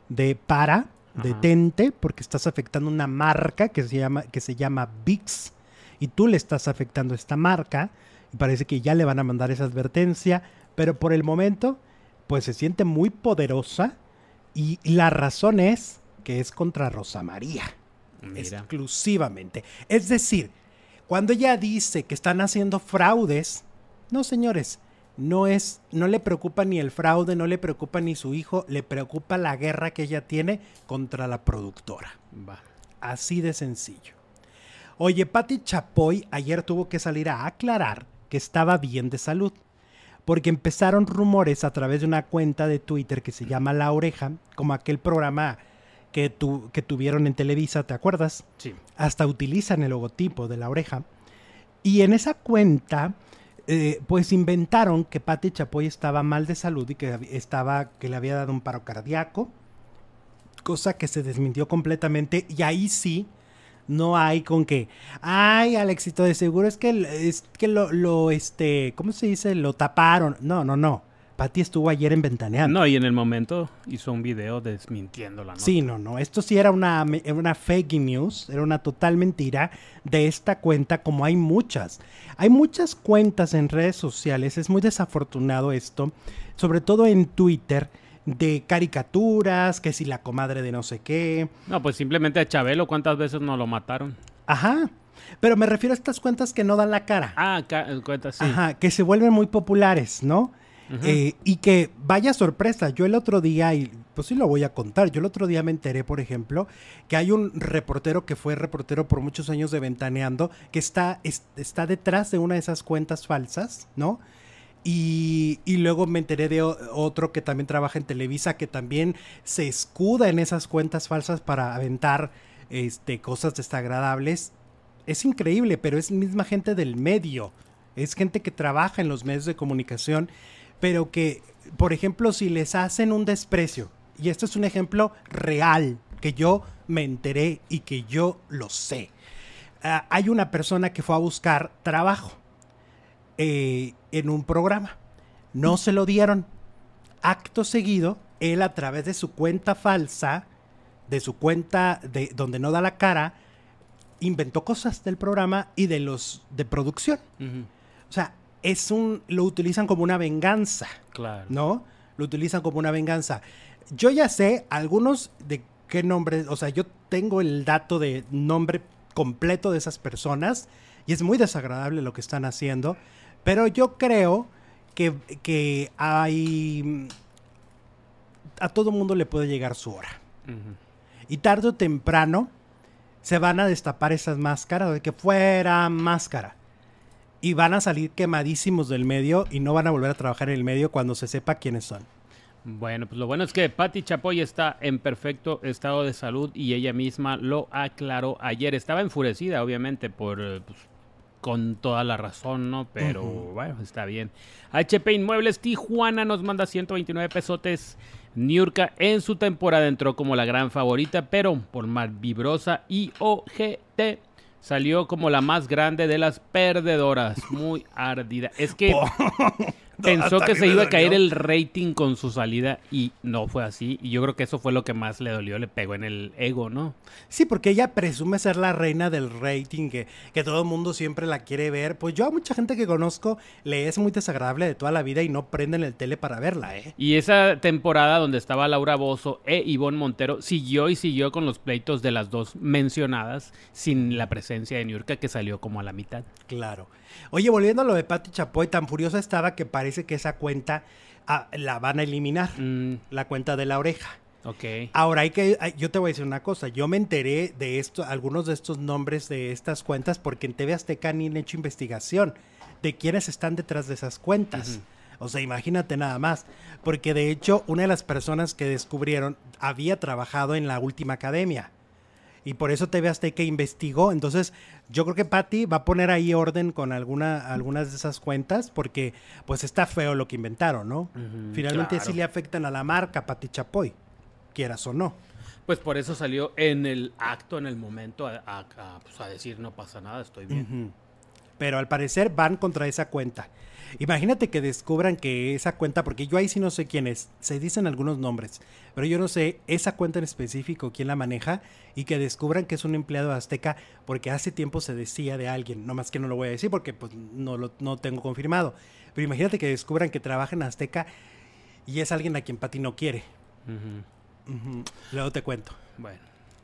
detente, porque estás afectando una marca que se llama VIX, y tú le estás afectando esta marca, y parece que ya le van a mandar esa advertencia, pero por el momento, pues se siente muy poderosa, y la razón es que es contra Rosa María. Mira. Exclusivamente. Es decir, cuando ella dice que están haciendo fraudes, no, señores, no le preocupa ni el fraude, no le preocupa ni su hijo, le preocupa la guerra que ella tiene contra la productora. Va. Así de sencillo. Oye, Pati Chapoy ayer tuvo que salir a aclarar que estaba bien de salud, porque empezaron rumores a través de una cuenta de Twitter que se llama La Oreja, como aquel programa que tuvieron en Televisa, ¿te acuerdas? Sí. Hasta utilizan el logotipo de La Oreja. Y en esa cuenta, pues inventaron que Pati Chapoy estaba mal de salud y que le había dado un paro cardíaco, cosa que se desmintió completamente. Y ahí sí, no hay con que, ay, Alexito, de seguro es que ¿cómo se dice? Lo taparon. No. Pati estuvo ayer en Ventaneando. No, y en el momento hizo un video desmintiendo la nota. Sí, no. Esto sí era una fake news, era una total mentira de esta cuenta, como hay muchas. Hay muchas cuentas en redes sociales, es muy desafortunado esto, sobre todo en Twitter, de caricaturas, que si la comadre de no sé qué. No, pues simplemente a Chabelo, ¿cuántas veces no lo mataron? Ajá. Pero me refiero a estas cuentas que no dan la cara. Ah, cuentas, sí. Ajá, que se vuelven muy populares, ¿no? Uh-huh. Y que vaya sorpresa, yo el otro día, y pues sí lo voy a contar, yo el otro día me enteré, por ejemplo, que hay un reportero que fue reportero por muchos años de Ventaneando, que está detrás de una de esas cuentas falsas, ¿no? Y luego me enteré de otro que también trabaja en Televisa, que también se escuda en esas cuentas falsas para aventar cosas desagradables. Es increíble, pero es misma gente del medio, es gente que trabaja en los medios de comunicación, pero que, por ejemplo, si les hacen un desprecio, y esto es un ejemplo real, que yo me enteré y que yo lo sé. Hay una persona que fue a buscar trabajo en un programa. No se lo dieron. Acto seguido, él a través de su cuenta falsa, de su cuenta de donde no da la cara, inventó cosas del programa y de producción. Uh-huh. O sea, lo utilizan como una venganza. Claro. ¿No? Lo utilizan como una venganza. Yo ya sé algunos de qué nombres, o sea, yo tengo el dato de nombre completo de esas personas y es muy desagradable lo que están haciendo, pero yo creo que hay... A todo mundo le puede llegar su hora. Uh-huh. Y tarde o temprano se van a destapar esas máscaras, de que fuera máscara. Y van a salir quemadísimos del medio y no van a volver a trabajar en el medio cuando se sepa quiénes son. Bueno, pues lo bueno es que Pati Chapoy está en perfecto estado de salud y ella misma lo aclaró ayer. Estaba enfurecida, obviamente, con toda la razón, ¿no? Pero bueno, está bien. HP Inmuebles Tijuana nos manda 129 pesotes. Niurka en su temporada entró como la gran favorita, pero por malvibrosa y ojete salió como la más grande de las perdedoras. Muy ardida. Es que pensó que se iba a caer el rating con su salida y no fue así. Y yo creo que eso fue lo que más le dolió, le pegó en el ego, ¿no? Sí, porque ella presume ser la reina del rating, que todo el mundo siempre la quiere ver. Pues yo a mucha gente que conozco le es muy desagradable de toda la vida y no prenden el tele para verla, ¿eh? Y esa temporada donde estaba Laura Bozzo e Ivonne Montero siguió con los pleitos de las dos mencionadas sin la presencia de Niurka, que salió como a la mitad. Claro. Oye, volviendo a lo de Pati Chapoy, tan furiosa estaba que parece que esa cuenta la van a eliminar, la cuenta de La Oreja. Ok. Ahora yo te voy a decir una cosa, yo me enteré de algunos de estos nombres de estas cuentas porque en TV Azteca han hecho investigación de quiénes están detrás de esas cuentas. Uh-huh. O sea, imagínate nada más, porque de hecho una de las personas que descubrieron había trabajado en La Última Academia. Y por eso TV Azteca investigó. Entonces, yo creo que Pati va a poner ahí orden con algunas de esas cuentas, porque pues está feo lo que inventaron, ¿no? Uh-huh, finalmente claro. Sí le afectan a la marca Pati Chapoy, quieras o no. Pues por eso salió en el acto, en el momento, a decir no pasa nada, estoy bien. Uh-huh. pero al parecer van contra esa cuenta. Imagínate que descubran que esa cuenta, porque yo ahí sí no sé quién es, se dicen algunos nombres, pero yo no sé esa cuenta en específico quién la maneja, y que descubran que es un empleado de Azteca, porque hace tiempo se decía de alguien, nomás que no lo voy a decir porque pues no tengo confirmado, pero imagínate que descubran que trabaja en Azteca y es alguien a quien Pati no quiere. Luego te cuento. Bueno.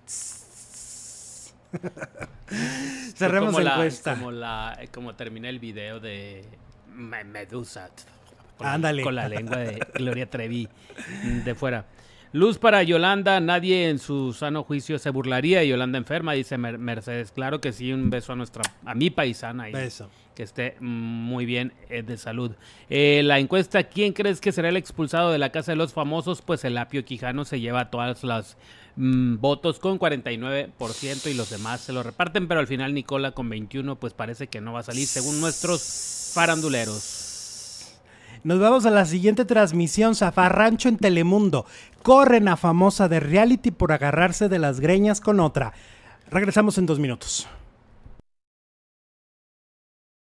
Cerremos la encuesta. Como termina el video de Medusa. Ándale. Con la lengua de Gloria Trevi de fuera. Luz para Yolanda, nadie en su sano juicio se burlaría de Yolanda enferma, dice Mercedes. Claro que sí, un beso a mi paisana. Beso. Que esté muy bien de salud. La encuesta, ¿quién crees que será el expulsado de la Casa de los Famosos? Pues el Apio Quijano se lleva todas las votos con 49% y los demás se lo reparten, pero al final Nicola con 21 pues parece que no va a salir según nuestros faranduleros. Nos vamos a la siguiente transmisión, Zafarrancho en Telemundo. Corren a famosa de reality por agarrarse de las greñas con otra. Regresamos en 2 minutos.